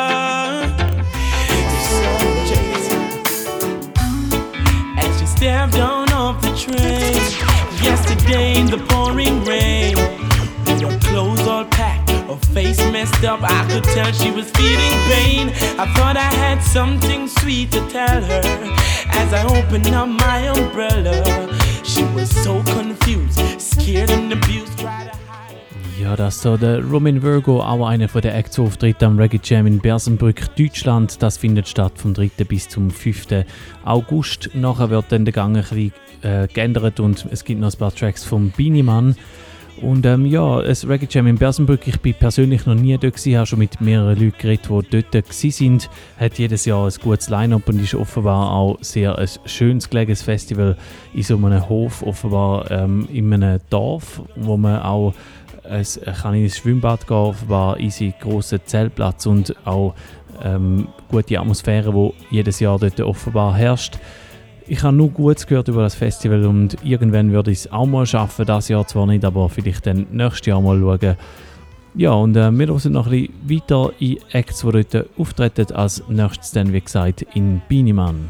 Stepped down off the train yesterday in the pouring rain. With her clothes all packed, her face messed up, I could tell she was feeling pain. I thought I had something sweet to tell her as I opened up my umbrella. She was so confused, scared and abused, tried to hide.
Ja, das so der Roman Virgo, auch einer von den Acts-Auftritten am Reggae Jam in Bersenbrück, Deutschland. Das findet statt vom dritten bis zum fünften August. Nachher wird dann der Gang ein bisschen äh, geändert und es gibt noch ein paar Tracks vom Beanie Man. Und ähm, ja, das Reggae Jam in Bersenbrück, ich bin persönlich noch nie dort gewesen, habe schon mit mehreren Leuten geredet, die dort waren. Hat jedes Jahr ein gutes Line-Up und ist offenbar auch sehr ein schönes gelegenes Festival in so einem Hof, offenbar ähm, in einem Dorf, wo man auch ein kleines Schwimmbad gehen, offenbar easy grosser Zeltplatz und auch ähm, gute Atmosphäre, die jedes Jahr dort offenbar herrscht. Ich habe nur Gutes gehört über das Festival und irgendwann würde ich es auch mal schaffen, das Jahr zwar nicht, aber vielleicht dann nächstes Jahr mal schauen. Ja, und äh, wir hören noch ein bisschen weiter in Acts, die dort auftreten, als nächstes dann, wie gesagt, in Biniman.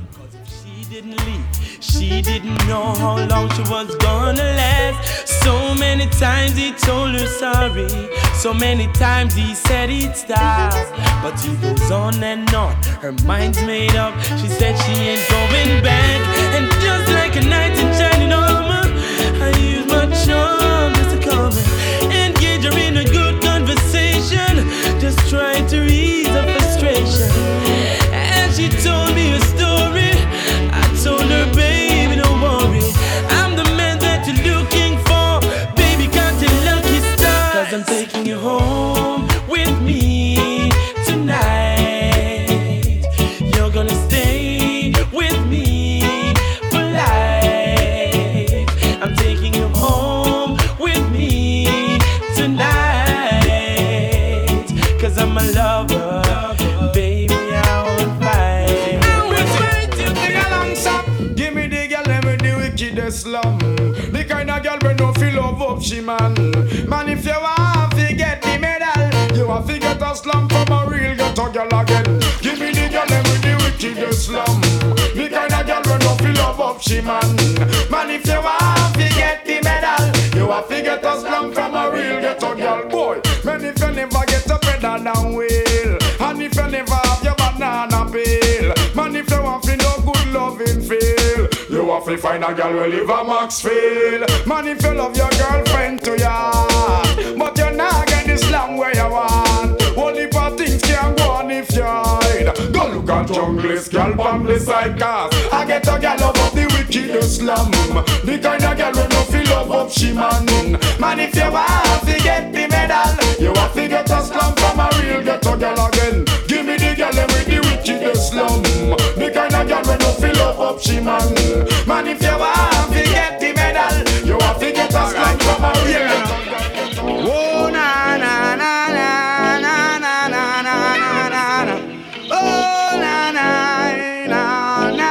She didn't know how long she was gonna last. So many times he told her sorry. So many times he said he'd stop. But he goes on and on, her mind's made up. She said she ain't going back. And just like a knight in shining armor, I use my charm just to calm her, engage her in a good conversation, just try to ease her frustration. And she told me a story. I told her, baby, don't worry, I'm the man that you're looking for. Baby, got a lucky star, 'cause I'm taking you home with me tonight. You're gonna stay with me for life. I'm taking you home with me tonight, 'cause I'm a lover. Baby, I won't fight.
Give me the girl, let me the wickedest slum. The kind of girl we no feel love up she man. Man, if you want to get the medal, you want to get a slum from a real ghetto girl again. Give me the girl, let me the wickedest slum. The kind of girl we no feel love up she man. Man, if you want to get the medal, you want to get a slum from a real ghetto girl. Boy, man, if you never get a pedal down wheel, and if you never have your banana peel, man, if you want to no good loving feel, you have to find a girl who live a Maxfield. Man, if you love your girlfriend to ya, but you're not getting the slam where you want. Only for things can go on if you hide. Go look at junglist, girl, on the side cars. I get a girl love up the wickedest slum. The kind of girl who no feel love up she man. Man, if you want to get the medal, you have to get a slum from a real ghetto girl again. Give me the girl with the wickedest slum. The kind of girl who no feel love up she man. Man, if you want to get the medal, you have to get a slum from a real ghetto girl. Oh na na na na na na na na na na. Oh na na na na.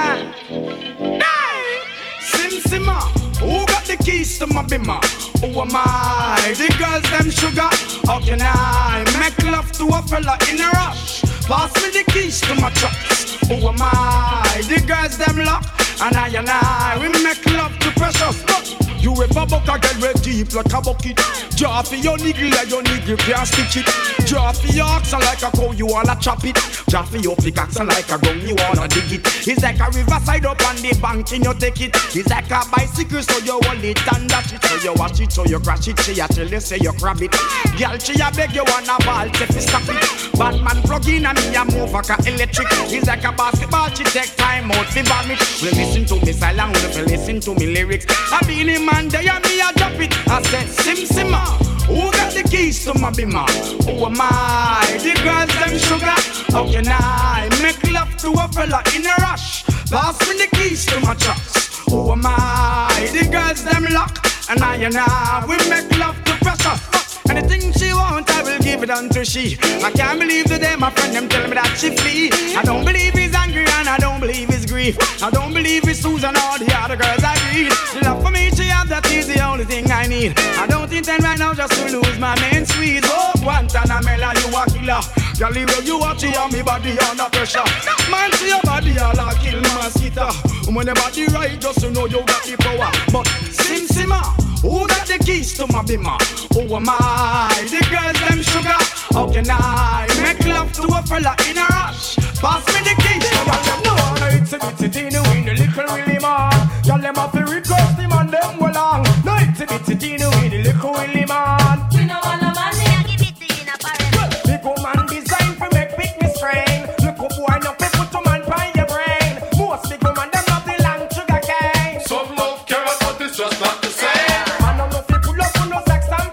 Sim Simma, who got the keys to my bimmer? Who am I? The girls them sugar. How can I make love to a fella in a rush? Pass me the keys to my trucks. Who am I? The girls them lock. And I and I, we make love to precious. But you ever buck a girl with deep like a bucket? Draw for your niggle like your niggle can't stitch it. Draw for your oxen like a cow, you wanna chop it. Draw for your pickaxe like a gun, you wanna dig it. It's like a riverside up on the bank and you take it. It's like a bicycle so you hold it and dash it. So you watch it, so you crash it, she a tell you say you grab it. Girl, she a beg you wanna ball, take it, stop it. Batman plug in and me a move like a electric. It's like a basketball, she take time out to vomit. Listen to me silent, listen to me lyrics. I been in man there and me a drop it. I said Sim Simma, who got the keys to my bimmer? Who am I? The girls them sugar. How can I make love to a fella in a rush? Pass me the keys to my trucks. Who am I? The girls them lock. And I and I we make love to pressure. Anything she want, I will give it unto she. I can't believe today my friend them tell me that she flee. I don't believe he's angry and I don't believe he's grief. I don't believe it's Susan or the other girls I breathe. Love for me, she have, that is the only thing I need. I don't intend right now just to lose my main squeeze. Oh, Guantanamela, you a killer. Girl, leave you watch you on me body under pressure. Man, see your body all a kill mosquito. When your body right, just to know you got the power. But Sim Simma, who got the keys to my bimmer? Who am I? The girls them sugar. How can I make love to a fella in a rush? Pass me the keys. Y'all them know no it's a bitty teeny with the little Willie man. Y'all them have to request him and them well long. No it's a bitty teeny with the little Willie man. We know all the man they give it in a parent. Big woman designed for make big me strain. Look up boy no put to man by your brain. Most big woman them love the long sugar cane. Some love carrot but it's just not the same. Man no no fi pull up on no sex and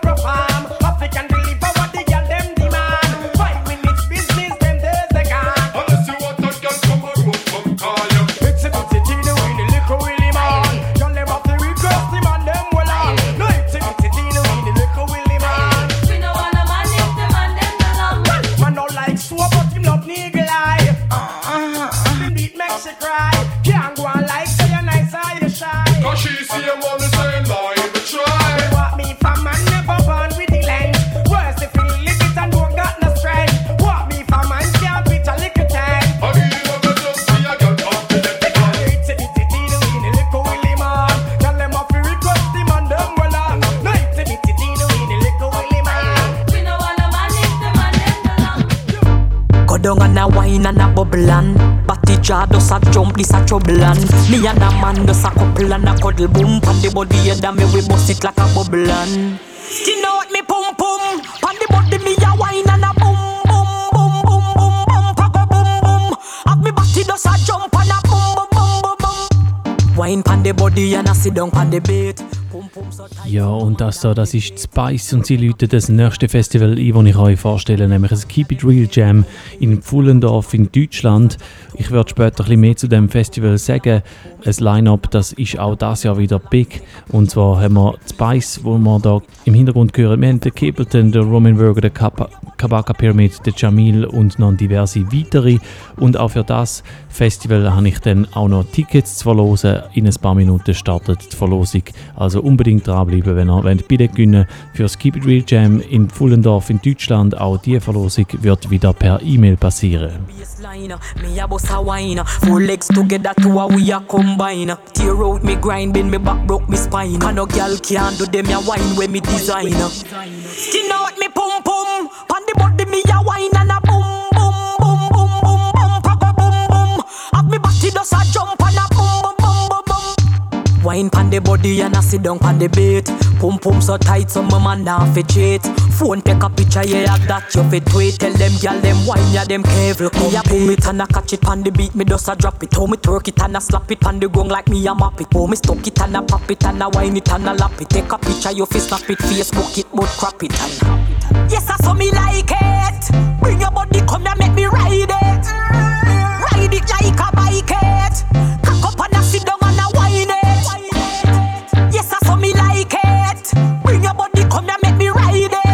down and a wine and a bubble and Batty jaw does a jump, this a trouble and me and a man does a couple and a cuddle boom. Pan the body head and me we bust it like a bubble and skin out me pum pum. Pan the body me a wine and a boom boom boom boom boom boom papa boom boom. Have me batty does a jump and a boom boom boom boom boom. Wine pan the body and a sit down pan the bed.
Ja, und das da, das ist Spice und sie läuten das nächste Festival ein, das ich euch vorstelle, nämlich ein Keep It Real Jam in Pfullendorf in Deutschland. Ich werde später ein bisschen mehr zu dem Festival sagen. Ein Line-Up, das ist auch dieses Jahr wieder big. Und zwar haben wir Spice, wo wir da im Hintergrund hören. Wir haben den Capleton, den Roman Burger, den Kabaka Pyramid, den Jamil und noch diverse weitere. Und auch für das Festival habe ich dann auch noch Tickets zu verlosen. In ein paar Minuten startet die Verlosung. Also unbedingt dranbleiben, wenn ihr wollt Billet gewinnen für das Keep It Real Jam in Pfullendorf in Deutschland. Auch diese Verlosung wird wieder per E-Mail passieren.
Me a bust a wine, four legs together to a we a combine. Tear out me grind, bend me back, broke me spine. And no girl can do them a wine when me design. Skin out me pum pum, pan the body me a wine and a boom boom boom boom boom boom, papa boom boom. Have me body does a jump and a boom boom boom boom boom. Wine pan the body and a sit down pan the bed. Pum pum so tight so my man nah fi cheat. Phone take a picture, yeah, that you fit tweet. Tell them gyal them wine, yeah, them careful. Me a pull it and a catch it pan the beat, me just a drop it. How me twerk it and a slap it pan the gong like me a map it. How me stuck it and a pop it and a wine it and a lap it. Take a picture, you fi snap it, Facebook it, but crap it and yes, I saw me like it. Bring your body, come here, make me ride it. Ride it like a bike it. Cock up and a sit down and a wine it. Yes, I saw me like it. Bring your body, come here, make me ride it.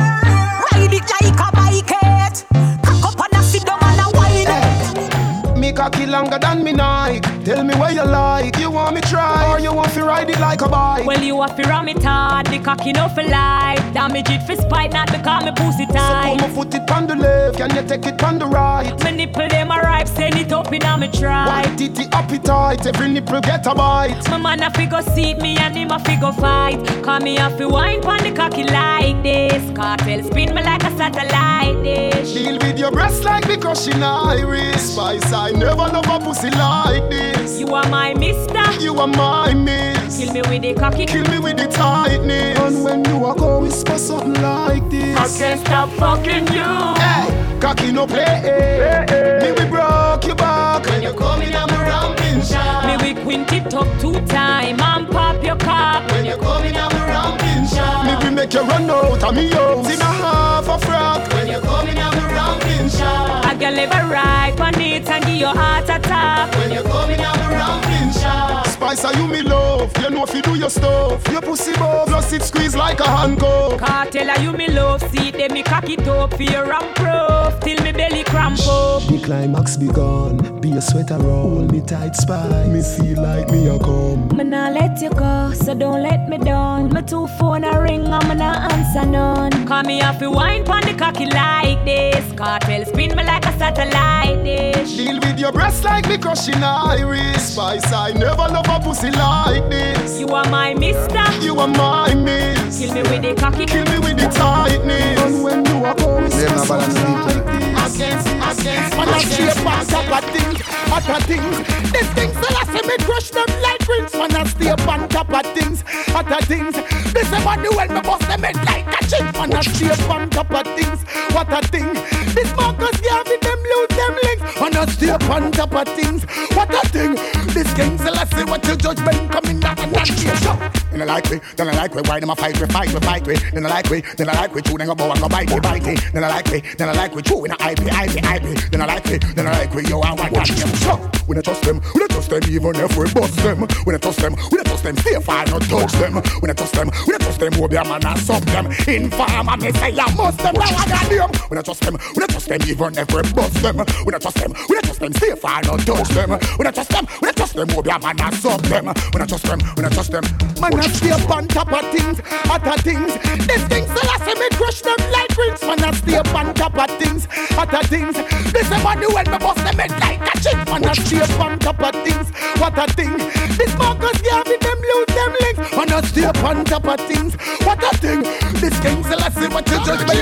Cocky longer than me Nike. Tell me where you like. You want me try or you want to ride it like a bike?
Well, you want to ram it hard. The cocky no for life. Damage it for spite, not because me pussy tight.
So come put it on the left, can you take it on the right?
My nipple them a ripe, send it up in a me try.
White titty appetite, every nipple get a bite.
My man a figure seat me and him a figure fight. Call me a fi wine pon the cocky like this. Cartel spin me like a satellite dish.
Deal with your breast like the crushing iris. Spice I never love a pussy like this.
You are my mister.
You are my miss.
Kill me with the cocky.
Kill me with the tightness. And when you are go whisper something like this.
I can't stop fucking you.
Hey, cocky no play. Hey, hey. Me we broke your back.
When you come in I'm a ramping shot. Me we quint it up two time and pop your cock.
When you come in I'm a ramping shot. Me we make you run out of me house in a half a frock.
When you come in I'm a ramping shot. I can live a right on it and give your heart attack.
When you come in I'm a ramping shot. Spice are you me love. You know if you do your stuff. Your pussy buff plus it squeeze like a handcuff.
Cartel are you me love. See them me cock it up for your ramp proof. Till me belly cramp up.
The climax be gone. Be a sweater roll. Me tight Spice. Me feel like me a come.
Me nah let you go, so don't let me down. My two phone a ring and me nah answer none. Call me off the wine pon the cocky like this. Cartel spin me like a satellite dish.
Deal with your breast like me crushing iris. Spice I never love a pussy like this.
You are my mister.
You are my miss.
Kill me with the cocky.
Kill me with the tightness. And when you are going to balance like this. Against, against,
man, I shape on top of things, other things. These things that I say me crush them like rings. Man, I stay up on top of things, other things. This is what the well me bust them head like a chin. Man, I stay up on top of things, what a thing. This Marcus Garvey them lose them links. Man, I stay up on top of things, what a thing. This King Selassie what your judgment coming down and not here. Then I like me, then I like me. Why them a fight we fight we fight we. Then I like me, then I like me. Chew them go bow and go bite me bite me. Then I like me, then I like me. Chew in a I P I P I P. Then I like me, then I like me. Yo I want that them. So we don't trust them, we don't trust them even if we bust them. We don't trust them, we don't trust them. Stay far not touch them. We don't trust them, we don't trust them. Who be a man and sub them. Inform and me say I must them. Now I got them. We don't trust them, we don't trust them even if we bust them. We don't trust them, we don't trust them. Stay far not touch them. We don't trust them, we don't trust them. Who be a man and sub them. We don't trust them, we don't trust them. Man I stay up on top of things, other things. These things that I say me crush them like rings. Man I stay up on top of things, other things. This is what the well me bust them head like a chin. Man I stay up on top of things, what a thing. This Marcus Garvey them lose them links. Man I stay up on top of things, what a thing. This King Selassie what you judge me coming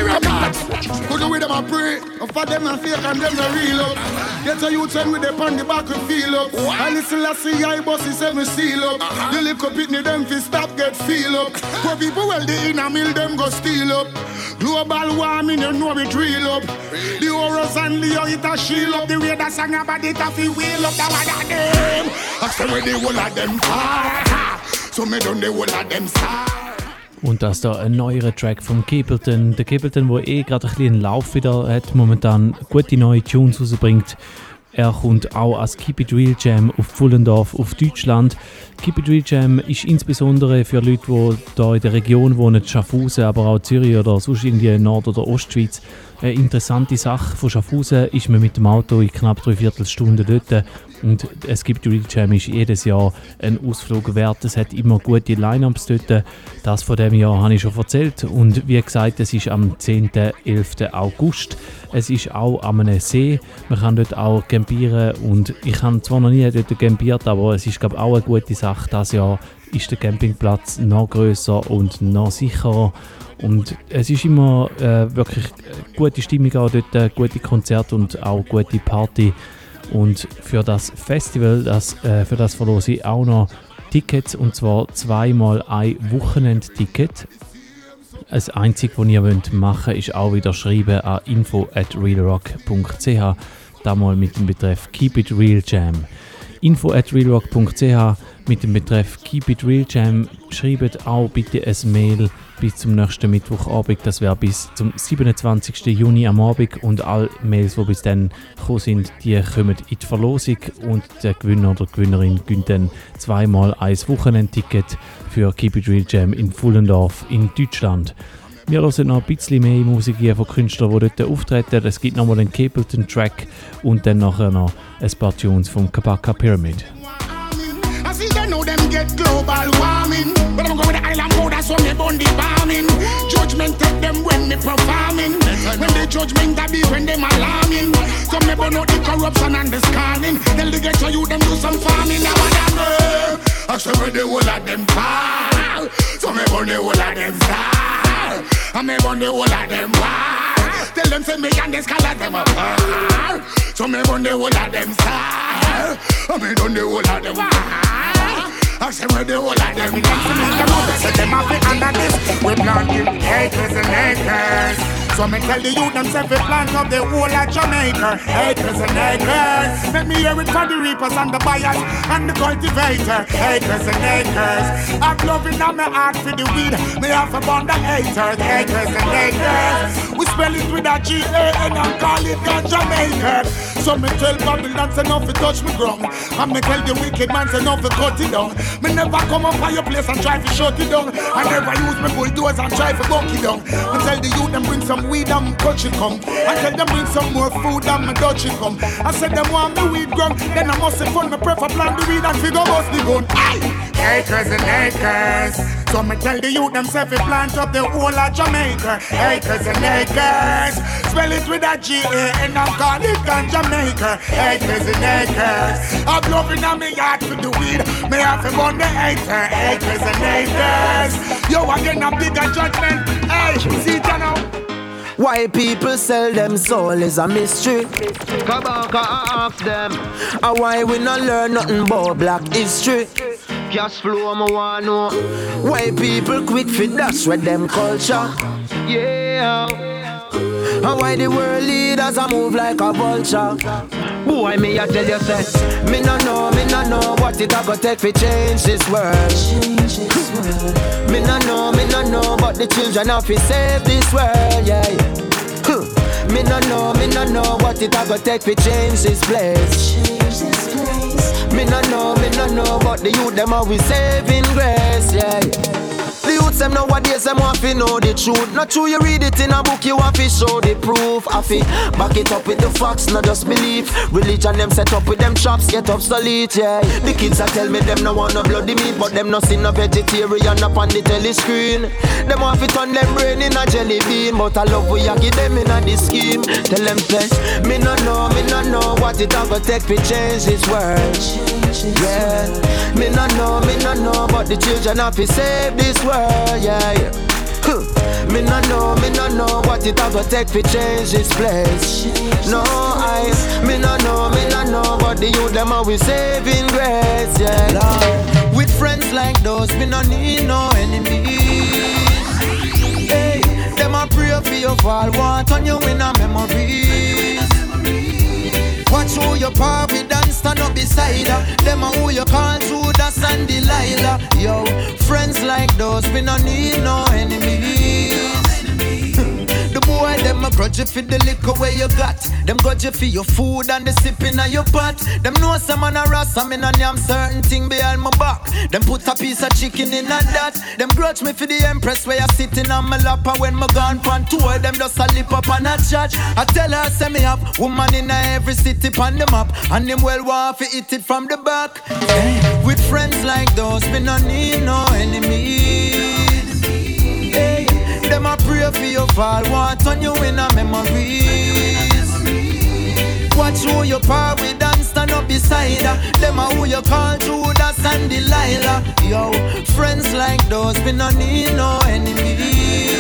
What? Could do with them a pray. For them a fake and them a real up. Get a youth and with them on the back and feel up. And listen, I see I bossy say me seal up. The little pitney them fi stop get feel up. Poor people well they in a mill them go steal up. Global warming you know it real up. The horrors and the how it a shield up. The way that song about it a fi wheel up. That one of them. I say where the whole of them far. So me done the whole of them star.
Und das da ein neuer Track vom Capleton. Der Capleton, der eh gerade ein bisschen einen Lauf wieder hat, momentan gute neue Tunes rausbringt. Er kommt auch als Keep It Real Jam auf Pfullendorf auf Deutschland. Keep It Real Jam ist insbesondere für Leute, die hier in der Region wohnen, Schaffhausen, aber auch Zürich oder sonst irgendwie Nord- oder Ostschweiz. Eine interessante Sache. Von Schaffhausen ist man mit dem Auto in knapp drei Viertelstunden dort. Und es gibt Real Jam ist jedes Jahr ein Ausflug wert. Es hat immer gute Line-Ups dort. Das von diesem Jahr habe ich schon erzählt. Und wie gesagt, es ist am zehnten elften August. Es ist auch an einem See. Man kann dort auch campieren. Und ich habe zwar noch nie dort campiert, aber es ist glaube ich auch eine gute Sache. Dieses Jahr ist der Campingplatz noch grösser und noch sicherer. Und es ist immer äh, wirklich gute Stimmung auch dort, gute Konzerte und auch gute Party. Und für das Festival, das, äh, für das verlose ich auch noch Tickets, und zwar zweimal ein Wochenendticket. Das Einzige, was ihr machen wollt, ist auch wieder schreiben an info at realrock punkt c h, da mal mit dem Betreff Keep It Real Jam. info at realrock punkt c h mit dem Betreff Keep It Real Jam. Schreibt auch bitte ein Mail bis zum nächsten Mittwochabend. Das wäre bis zum siebenundzwanzigsten Juni am Abend. Und alle Mails, die bis dann gekommen sind, die kommen in die Verlosung. Und der Gewinner oder die Gewinnerin gewinnt dann zweimal ein Wochenendticket für Keep It Real Jam in Pfullendorf in Deutschland. Wir hören noch ein bisschen mehr Musik hier von Künstlern, die dort auftreten. Es gibt nochmal den Capleton-Track und dann nachher noch ein paar Tunes vom Kabaka Pyramid.
See they know them get global warming. But I'm going to the island mode, that's when me burn the bombing. Judgment take them when me performing. When the judgment a be when them alarming. So me burn out the corruption and the scanning. Tell the ghetto you them do some farming. Now what I know, I say where the whole of them fall. So me burn the whole of them star. And me burn the whole of them war. Tell them say me and the scholars them apart. So me burn the whole of them star. And me done the whole of them war. I say where the whole of them are. Say them have it under this. We planting acres and acres. So me tell the youth themselves we plant up the whole of Jamaica. Acres and acres. Let me hear it from the reapers and the buyers and the cultivator. Acres and acres. I'm loving on my heart for the weed. Me have a bond of haters. Acres and acres. We spell it with a G A and I call it ganja maker. So me tell Babylon say no fi touch me ground. And me tell the wicked man say no fi cut it down. Me never come up on your place and try to shut it down. I never use me bulldozer and try to buck it down. Me tell the youth them bring some weed and touch it come. I tell them bring some more food and me touch it come. I said them want me weed ground. Then I must say fun me prefer plant the weed and figure bust the gun. Aye! Acres and acres. So me tell the youth themselves we plant up the whole of Jamaica. Acres and acres. Spell it with a G A and I call it ganja maker. Acres and acres. I'm loving on me yard for the weed. Me have to burn the acre. Acres and acres. Yo again a bigger judgment. Hey, see it now.
Why people sell them soul is a mystery.
Come on, come ask them.
And why we not learn nothing about black history.
Cash flow, I wanna know.
Why people quick fit dash with them culture.
Yeah.
And why the world leaders a move like a vulture.
Boy, me I tell you say,
me no know, me no know what it a go take to change this world. Change this world. Me no know, me no know, but the children have to save this world, yeah. Me no know, me no know what it a go take to change this place. Change this place. Me no know, me no know, but the youth them always saving grace, yeah. The youths them nowadays them want to know the truth. Not true you read it in a book, you want to show the proof. I fi back it up with the facts, not just belief. Religion them set up with them traps, get obsolete, yeah. The kids a tell me them no want no bloody meat, but them no see no vegetarian up on the telescreen. Them want to turn them brain in a jelly bean, but I love we a give them in a this scheme. Tell them say, me no know, me no know what it a go take to change this world. Yeah, me no know, me no know, but the children have to save this world. Yeah, yeah. Huh. Me no know, me no know what it a go take to change this place. No, I, me no know, me no know, but the youth them always saving grace, yeah. Lord. With friends like those, me no need no enemies. Hey, them a pray for your fall, want on you in a memories. Watch who you par with and stand up beside her. Them a who you call Judas and Delilah. Yo, friends like those, we no need no enemies. The boy, them a grudge you for the liquor where you got. Them grudge you for your food and the sipping of your pot. Them know some man a ras, I'm in a damn certain thing behind my back. Them put a piece of chicken in a that. Them grudge me for the empress where you sitting on my lap. And when my gone pan tour, them just a lip up and a chat. I tell her, say me have woman in a every city on the map. And them well want to eat it from the back. Hey, with friends like those, we no need no enemies. Hey, them a pray for your fall, want on you in a memories. Watch who you par with and stand up beside her. Them a who you call Judas and Delilah. Yo, friends like those, we no need no enemies.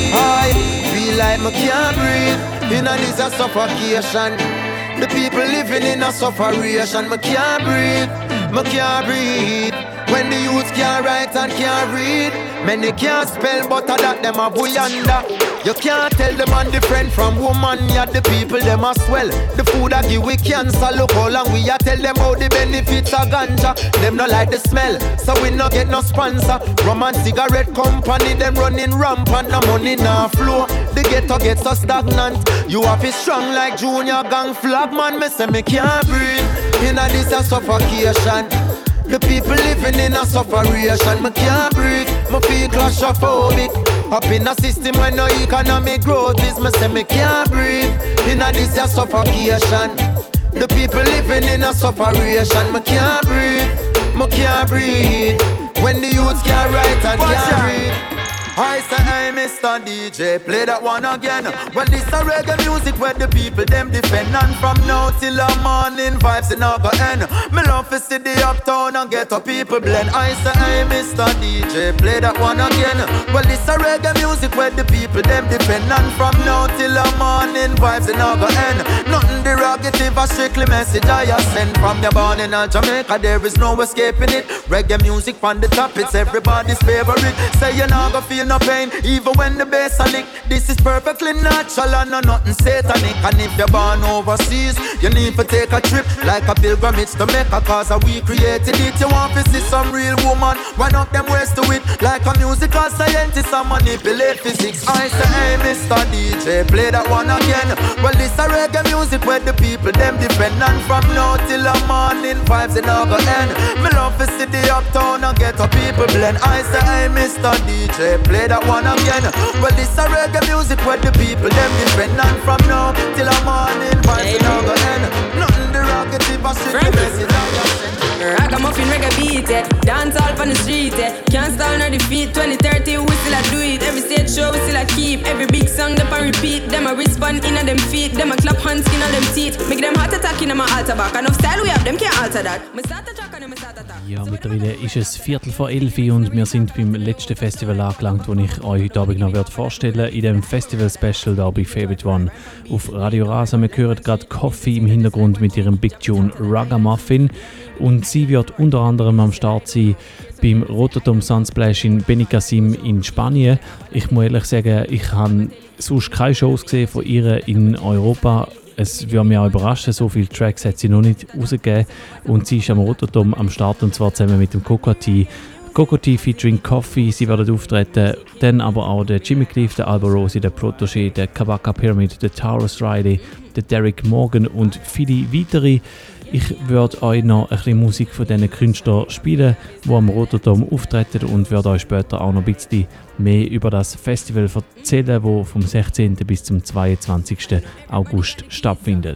I feel like me can't breathe in a this a suffocation. The people living in a sufferation. Me can't breathe, me can't breathe. When the youth can't write and can't read, many can't spell, but a that them a buyanda. You can't tell the man different from woman. Yeah, the people them a swell. The food a give we cancer. Look how long we a tell them how the benefits of ganja. Them no like the smell, so we no get no sponsor. Rum and cigarette company, them running rampant. No money no flow, the ghetto get so stagnant. You have it strong like Junior Gang flag man. Me say me can't breathe in a this a suffocation. The people living in a sufferation. Me can't breathe, me feel claustrophobic. Up in a system where no economic growth is. Me say me can't breathe in a this a suffocation. The people living in a sufferation. Me can't breathe, me can't breathe. When the youths can't write and can't read. I say, hey, Mister D J, play that one again. Well, this a reggae music where the people them defend. And from now till the morning, vibes in our go end. Me love to see the uptown and get a people blend. I say, hey, Mister D J, play that one again. Well, this a reggae music where the people them defend. And from now till the morning, vibes in our go end. Nothing derogative, a strictly message I send. From your born in Jamaica, there is no escaping it. Reggae music on the top, it's everybody's favorite. Say you not gonna feel no pain, even when the bass a lick. This is perfectly natural and no nothing satanic. And if you're born overseas, you need to take a trip like a pilgrimage to make a cause we created it. You want to see some real woman, one of them ways to it. Like a musical scientist and manipulate physics. I say, hey, Mister D J, play that one again. Well, this a reggae music where the people them defend. And from now till the morning, vibes in our go end. Me love to see the uptown and get a people blend. I say, hey, Mister D J, play that one again. Well, this a reggae music where the people them defend. And from now till the morning, vibes in our go end. Nothing derogative, a strictly message I just send.
Ragamuffin reggae beat, eh. Dance all on the street, eh. Can't stall nor defeat. twenty thirty we still a do it. Every stage show we still a keep. Every big song them a repeat. Them a respond in a them feet. Them a clap hands in a them teeth. Make them heart attack in a my altar back. Enough style we have, them can't alter that. Me start a track and me start a track.
Ja, mittlerweile ist es Viertel vor elf und wir sind beim letzten Festival angelangt, das ich euch heute Abend noch vorstellen werde. In dem Festival-Special da bei Favorite One auf Radio Rasa. Wir hören gerade Coffee im Hintergrund mit ihrem Big Tune Ragamuffin. Und sie wird unter anderem am Start sein beim Rotterdam Sunsplash in Benicassim in Spanien. Ich muss ehrlich sagen, ich habe sonst keine Shows gesehen von ihr in Europa. Es würde mich auch überraschen, so viele Tracks hat sie noch nicht rausgegeben. Und sie ist am Rotterdam am Start und zwar zusammen mit dem Cocoa-Tea. Cocoa-Tea featuring Coffee, sie werden auftreten. Dann aber auch der Jimmy Cliff, der Alba Rosi, der Protégé, der Kabaka Pyramid, der Taurus Riley, der Derek Morgan und viele weitere. Ich würde euch noch ein bisschen Musik von diesen Künstlern spielen, die am Rotterdam auftreten und würde euch später auch noch ein bisschen mehr über das Festival erzählen, das vom sechzehnten bis zum zweiundzwanzigsten August stattfindet.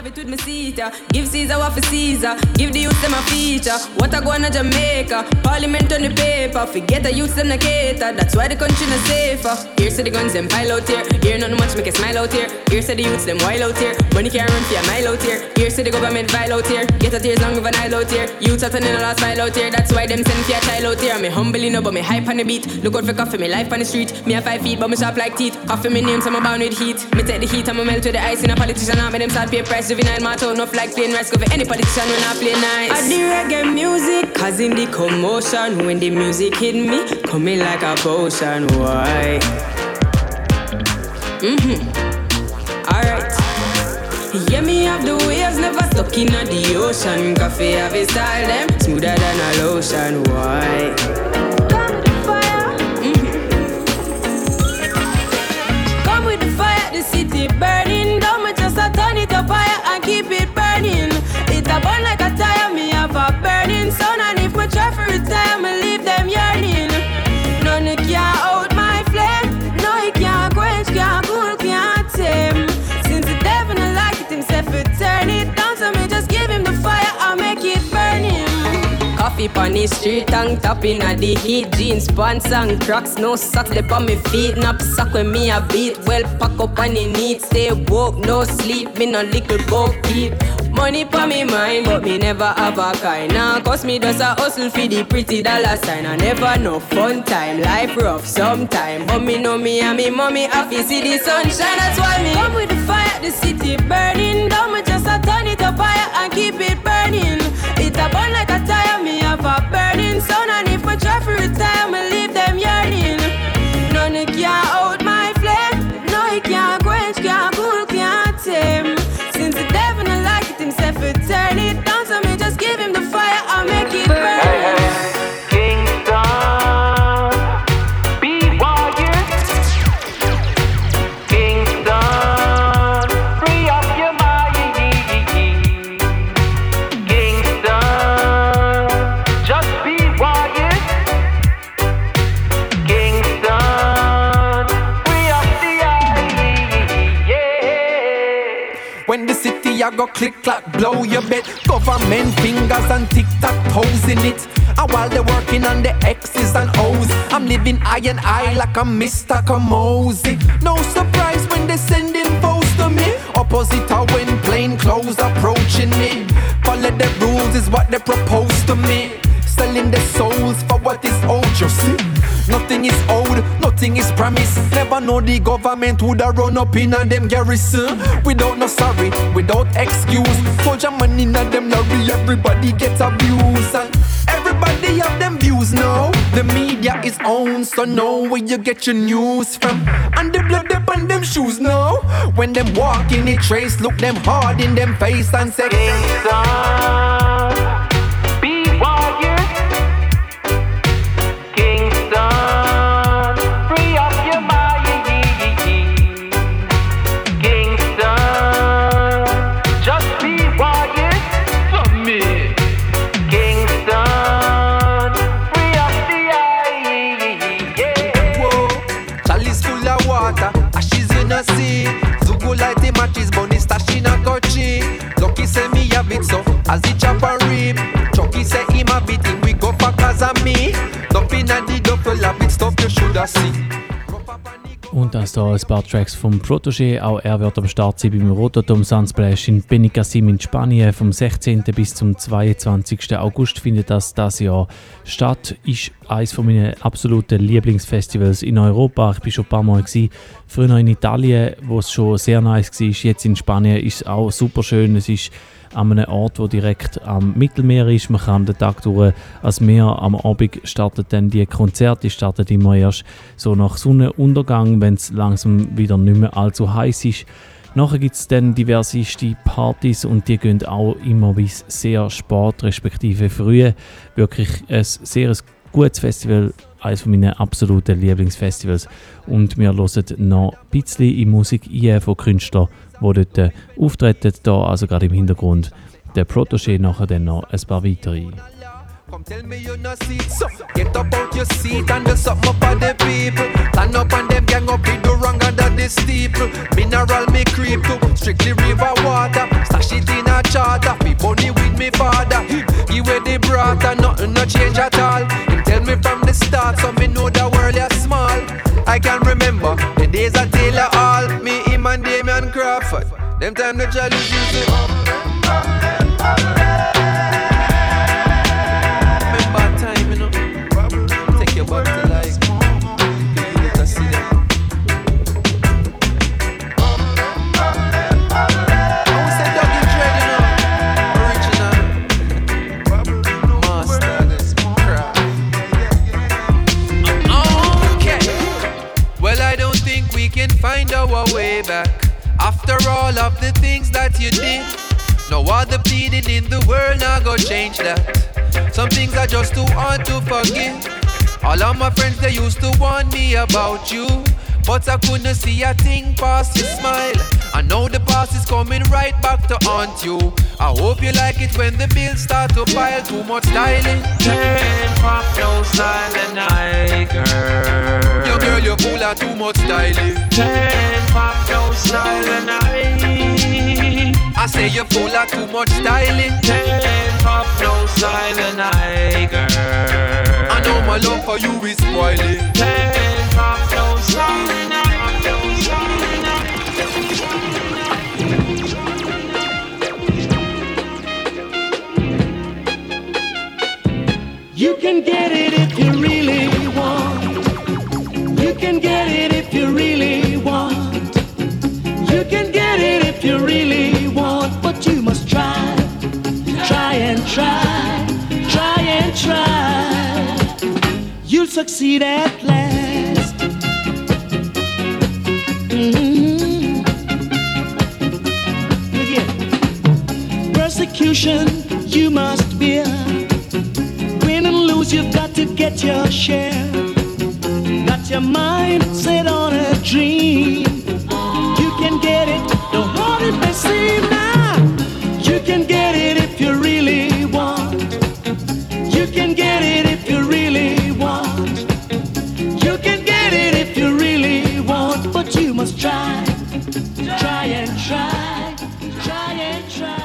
Give Caesar what for Caesar, give the youth them a feature. What I go on to Jamaica, Parliament on the paper. Forget the youth them a cater, that's why the country not safer. Here's to the guns them pile out here, here nothing much make a smile out here. Here's to the youths them wild out here, money can't run for a mile out here. Here's to the government vile out here, get a tears long with an aisle out here. Youths are turning a last mile out here, that's why them send for a child out here. Me humbly no but me hype on the beat, look out for coffee me life on the street. Me have five feet, but me sharp like teeth. Coffee me name, so I'm bound with heat. Me take the heat, I'ma melt with the ice. In a politician, I make them start pay price. Juvenile, my tone off like plain rice. Go for any politician when I play nice. I do reggae music, cause in the commotion, when the music hit me, coming like a potion. Why? Mm-hmm. Alright. Yeah, me have the waves, never stuck in the ocean. Coffee have a style, them smoother than a lotion. Why? Come with the fire. Mm-hmm. Come with the fire, the city burning. Don't just a turn it up higher and keep it burning. It a burn like a tire, me have a burning sun. And if my try for retire, me leave them yearning. None of can out my flame. No, it can't quench, can't cool, can't tame. Since the devil don't like it himself, it turn it down. So me just give him the fire, I'll make it burn him. Coffee on the street, tongue tapping at the heat. Jeans, pants and cracks, no socks left on my feet. Knapsack when me a beat, well pack up on the need. Stay woke, no sleep, me no little boat keep. Money pa me mind, but me never have a kind. Now cause me just a hustle for the pretty dollar sign. I never know fun time, life rough sometime. But me know me and me mommy happy see the sunshine. That's why me come with the fire, the city burning down. Me just a turn it up higher and keep it burning. It a burn like a tire, me have a burning sun. And if I try for retire, me leave them yearning. None can out my flame. No, it can't quench, can't cool, can't tame. Since the devil don't like it himself, it turn it down. So me just give him the fire, I'll make it burn. Hey, hey.
Kingston, be warriors. Kingston, free up your mind. Kingston, just be warriors. Kingston, free up the eye. Yeah.
When the city I go click clack blow your bed. Government fingers and tic tac toes in it. And while they're working on the X's and O's, I'm living eye and eye like I'm Mister Kamosi. No surprise when they sending foes to me. Opposite how when plain clothes approaching me. Follow the rules is what they propose to me. Selling their souls for what is old, you see. Nothing is old, nothing is promised. Never know the government woulda run up in a them garrison. Without no sorry, without excuse. Soldier man in a them lorry, everybody gets abused. And everybody have them views now. The media is owned, so know where you get your news from. And the blood up on them shoes now. When them walk in the trace, look them hard in them face and say
Kingston, be warriors. Kingston, free up your mind. Kingston, just be warriors for me. Kingston, free up the eye. Yeah.
Whoa, chalice full of water, ashes in a sea. Zugu light the matches, bunny stash in a kochi. Lucky say me have it so, as it chop and rip. Chucky say him a beat him, we go for cause of me. Dumping and the double a bit stuff you shoulda see.
Und das hier ein paar Tracks vom Protégé. Auch er wird am Start sein beim Rototom Sunsplash in Benicassim in Spanien. Vom sechzehnten bis zum zweiundzwanzigsten August findet das das Jahr statt. Ist eines meiner absoluten Lieblingsfestivals in Europa. Ich war schon ein paar Mal gewesen. Früher in Italien, wo es schon sehr nice war. Jetzt in Spanien ist es auch super schön. Es ist an einem Ort, der direkt am Mittelmeer ist. Man kann den Tag durch ans Meer. Am Abend startet dann die Konzerte. Die starten immer erst so nach Sonnenuntergang, wenn es langsam wieder nicht mehr allzu heiß ist. Nachher gibt es dann diverseste Partys und die gehen auch immer bis sehr spät, respektive früh. Wirklich ein sehr gutes Festival, eines meiner absoluten Lieblingsfestivals. Und wir hören noch ein bisschen in Musik ein von Künstlern, die dort auftreten. Da also gerade im Hintergrund der Protégé, nachher dann noch ein paar weitere.
Come tell me you no see it, so get up out your seat and do something up for the people. Stand up and them gang up, we do wrong under the steeple. Mineral me creep to strictly river water. Stash it in a charter, me bunny with me father. Give away the brata, nothing no change at all. Him tell me from the start, so me know the world is small. I can remember the days I Taylor Hall, me, him and Damian Crawford. Them time the challenge used to remember time, you know. Take your butt to life.
After all of the things that you did, no other pleading in the world now go change that. Some things are just too hard to forgive. All of my friends, they used to warn me about you, but I couldn't see a thing past your smile. I know the past is coming right back to haunt you. I hope you like it when the bills start to pile. Too much styling.
Can't pop no styling, I girl.
Yo girl, you're full of too much styling.
Can't pop no styling, I.
I say you're full of too much styling.
Can't pop no styling, I girl.
I know my love for you is spoiling.
Can't pop no styling, I.
You can get it if you really want. You can get it if you really want. You can get it if you really want. But you must try, try and try, try and try. You'll succeed at last. Mm-hmm. Yeah. Persecution you must bear. Win and lose, you've got to get your share. Got your mind set on a dream. You can get it, no hard it may seem now. You can get it if you really want. You can get it if you really want. You can get it if you really want. But you must try, try and try, try and try.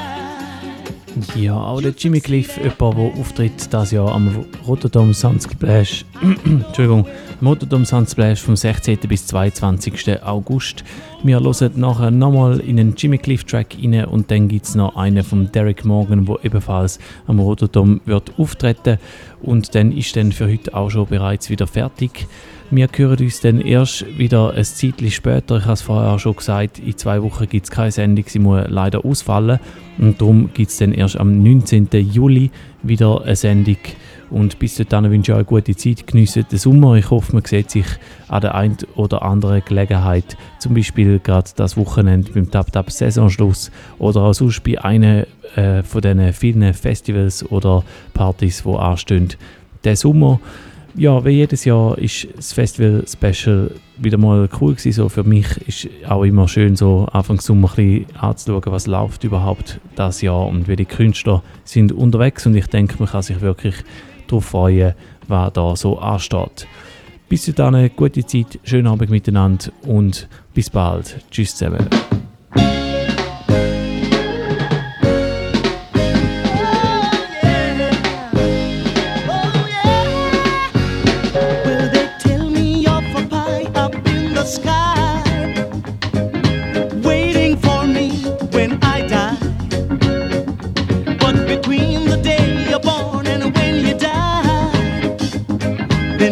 Ja, auch der Jimmy Cliff, jemand, der auftritt dieses Jahr am Rotterdam Sunsplash, Entschuldigung, am Rotterdam Sunsplash vom sechzehnten bis zweiundzwanzigsten August. Wir hören nachher nochmal in einen Jimmy Cliff Track rein und dann gibt es noch einen von Derek Morgan, der ebenfalls am Rotterdam wird auftreten, und dann ist dann für heute auch schon bereits wieder fertig. Wir hören uns dann erst wieder ein Zeitchen später. Ich habe es vorher auch schon gesagt, in zwei Wochen gibt es keine Sendung, sie muss leider ausfallen. Und darum gibt es dann erst am neunzehnten Juli wieder eine Sendung. Und bis dahin wünsche ich euch eine gute Zeit, geniessen den Sommer. Ich hoffe, man sieht sich an der einen oder anderen Gelegenheit, zum Beispiel gerade das Wochenende beim Tap-Tap-Saisonschluss oder auch sonst bei einem äh, von diesen vielen Festivals oder Partys, die anstehen. Der Sommer, ja, wie jedes Jahr ist das Festival-Special wieder mal cool gewesen. So für mich ist auch immer schön, so Anfang Sommer ein bisschen anzuschauen, was läuft überhaupt das Jahr und wie die Künstler sind unterwegs. Und ich denke, man kann sich wirklich darauf freuen, was da so ansteht. Bis dahin, eine gute Zeit, schönen Abend miteinander und bis bald. Tschüss zusammen.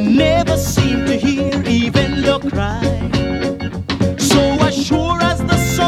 Never seem to hear even the cry. So as sure as the sun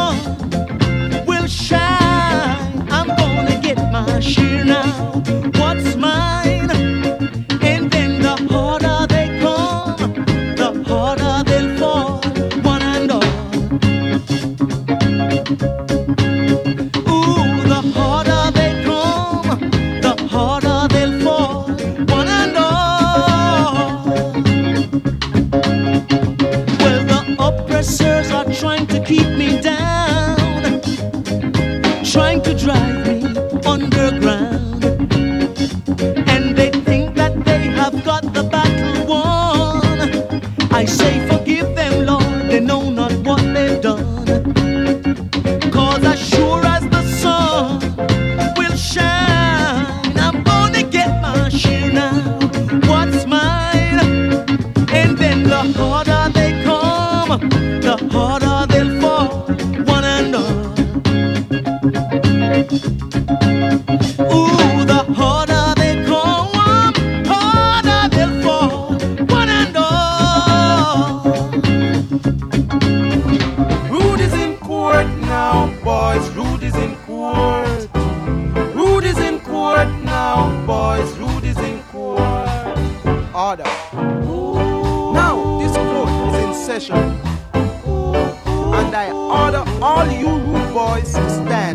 all you rude boys to stand.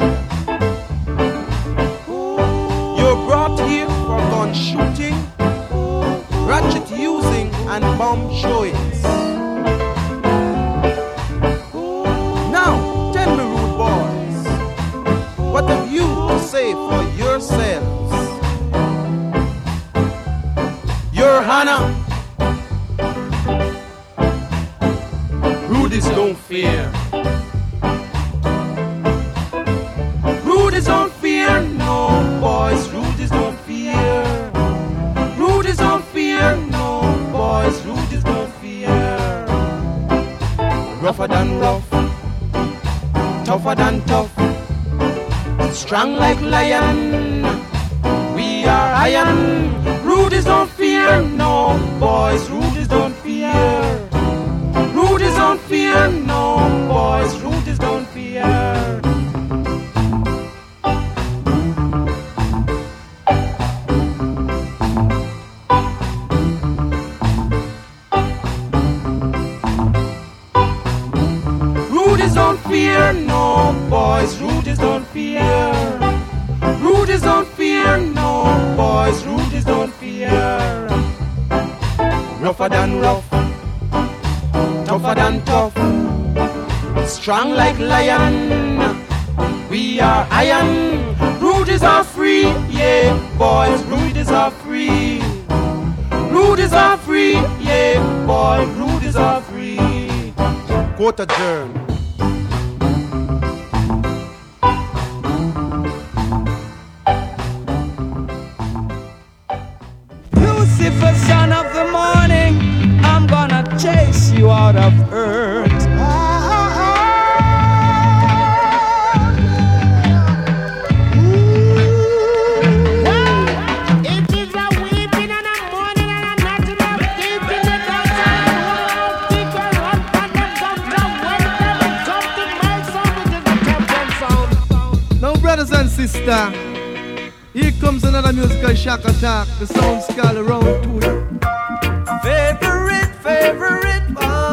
You're brought here for gun shooting, ratchet using, and bomb showings. Now, tell me, rude boys, what have you to say for yourselves? Your Honor, rudies don't fear. Rudies don't fear, no boys, rudies don't fear. Rudies don't fear, no boys, rudies don't fear. Rougher than rough, tougher than tough, strong like lion, we are iron. Rudies don't fear, no boys, rudies don't fear. Rudies don't fear, no boys, rudies don't fear. Rudies don't fear, no boys, rudies don't fear. Rudies don't fear, no boys, rudies don't fear. Rougher than rough, tougher than tough, strong like lion, we are iron. Rudies are free, yeah, boys, rudies are free. Rudies are free, yeah, boys, rudies are free. Quote adjourned.
Lucifer, son of the morning, I'm gonna chase you out of earth.
It is a weeping and a mourning and a knocking up deep in the dark side. People run back and come down when they come to my sound, which is the captain sound.
Now, brothers and sisters, here comes another musical shock attack. The sound skull around to it.
Favorite, favorite one.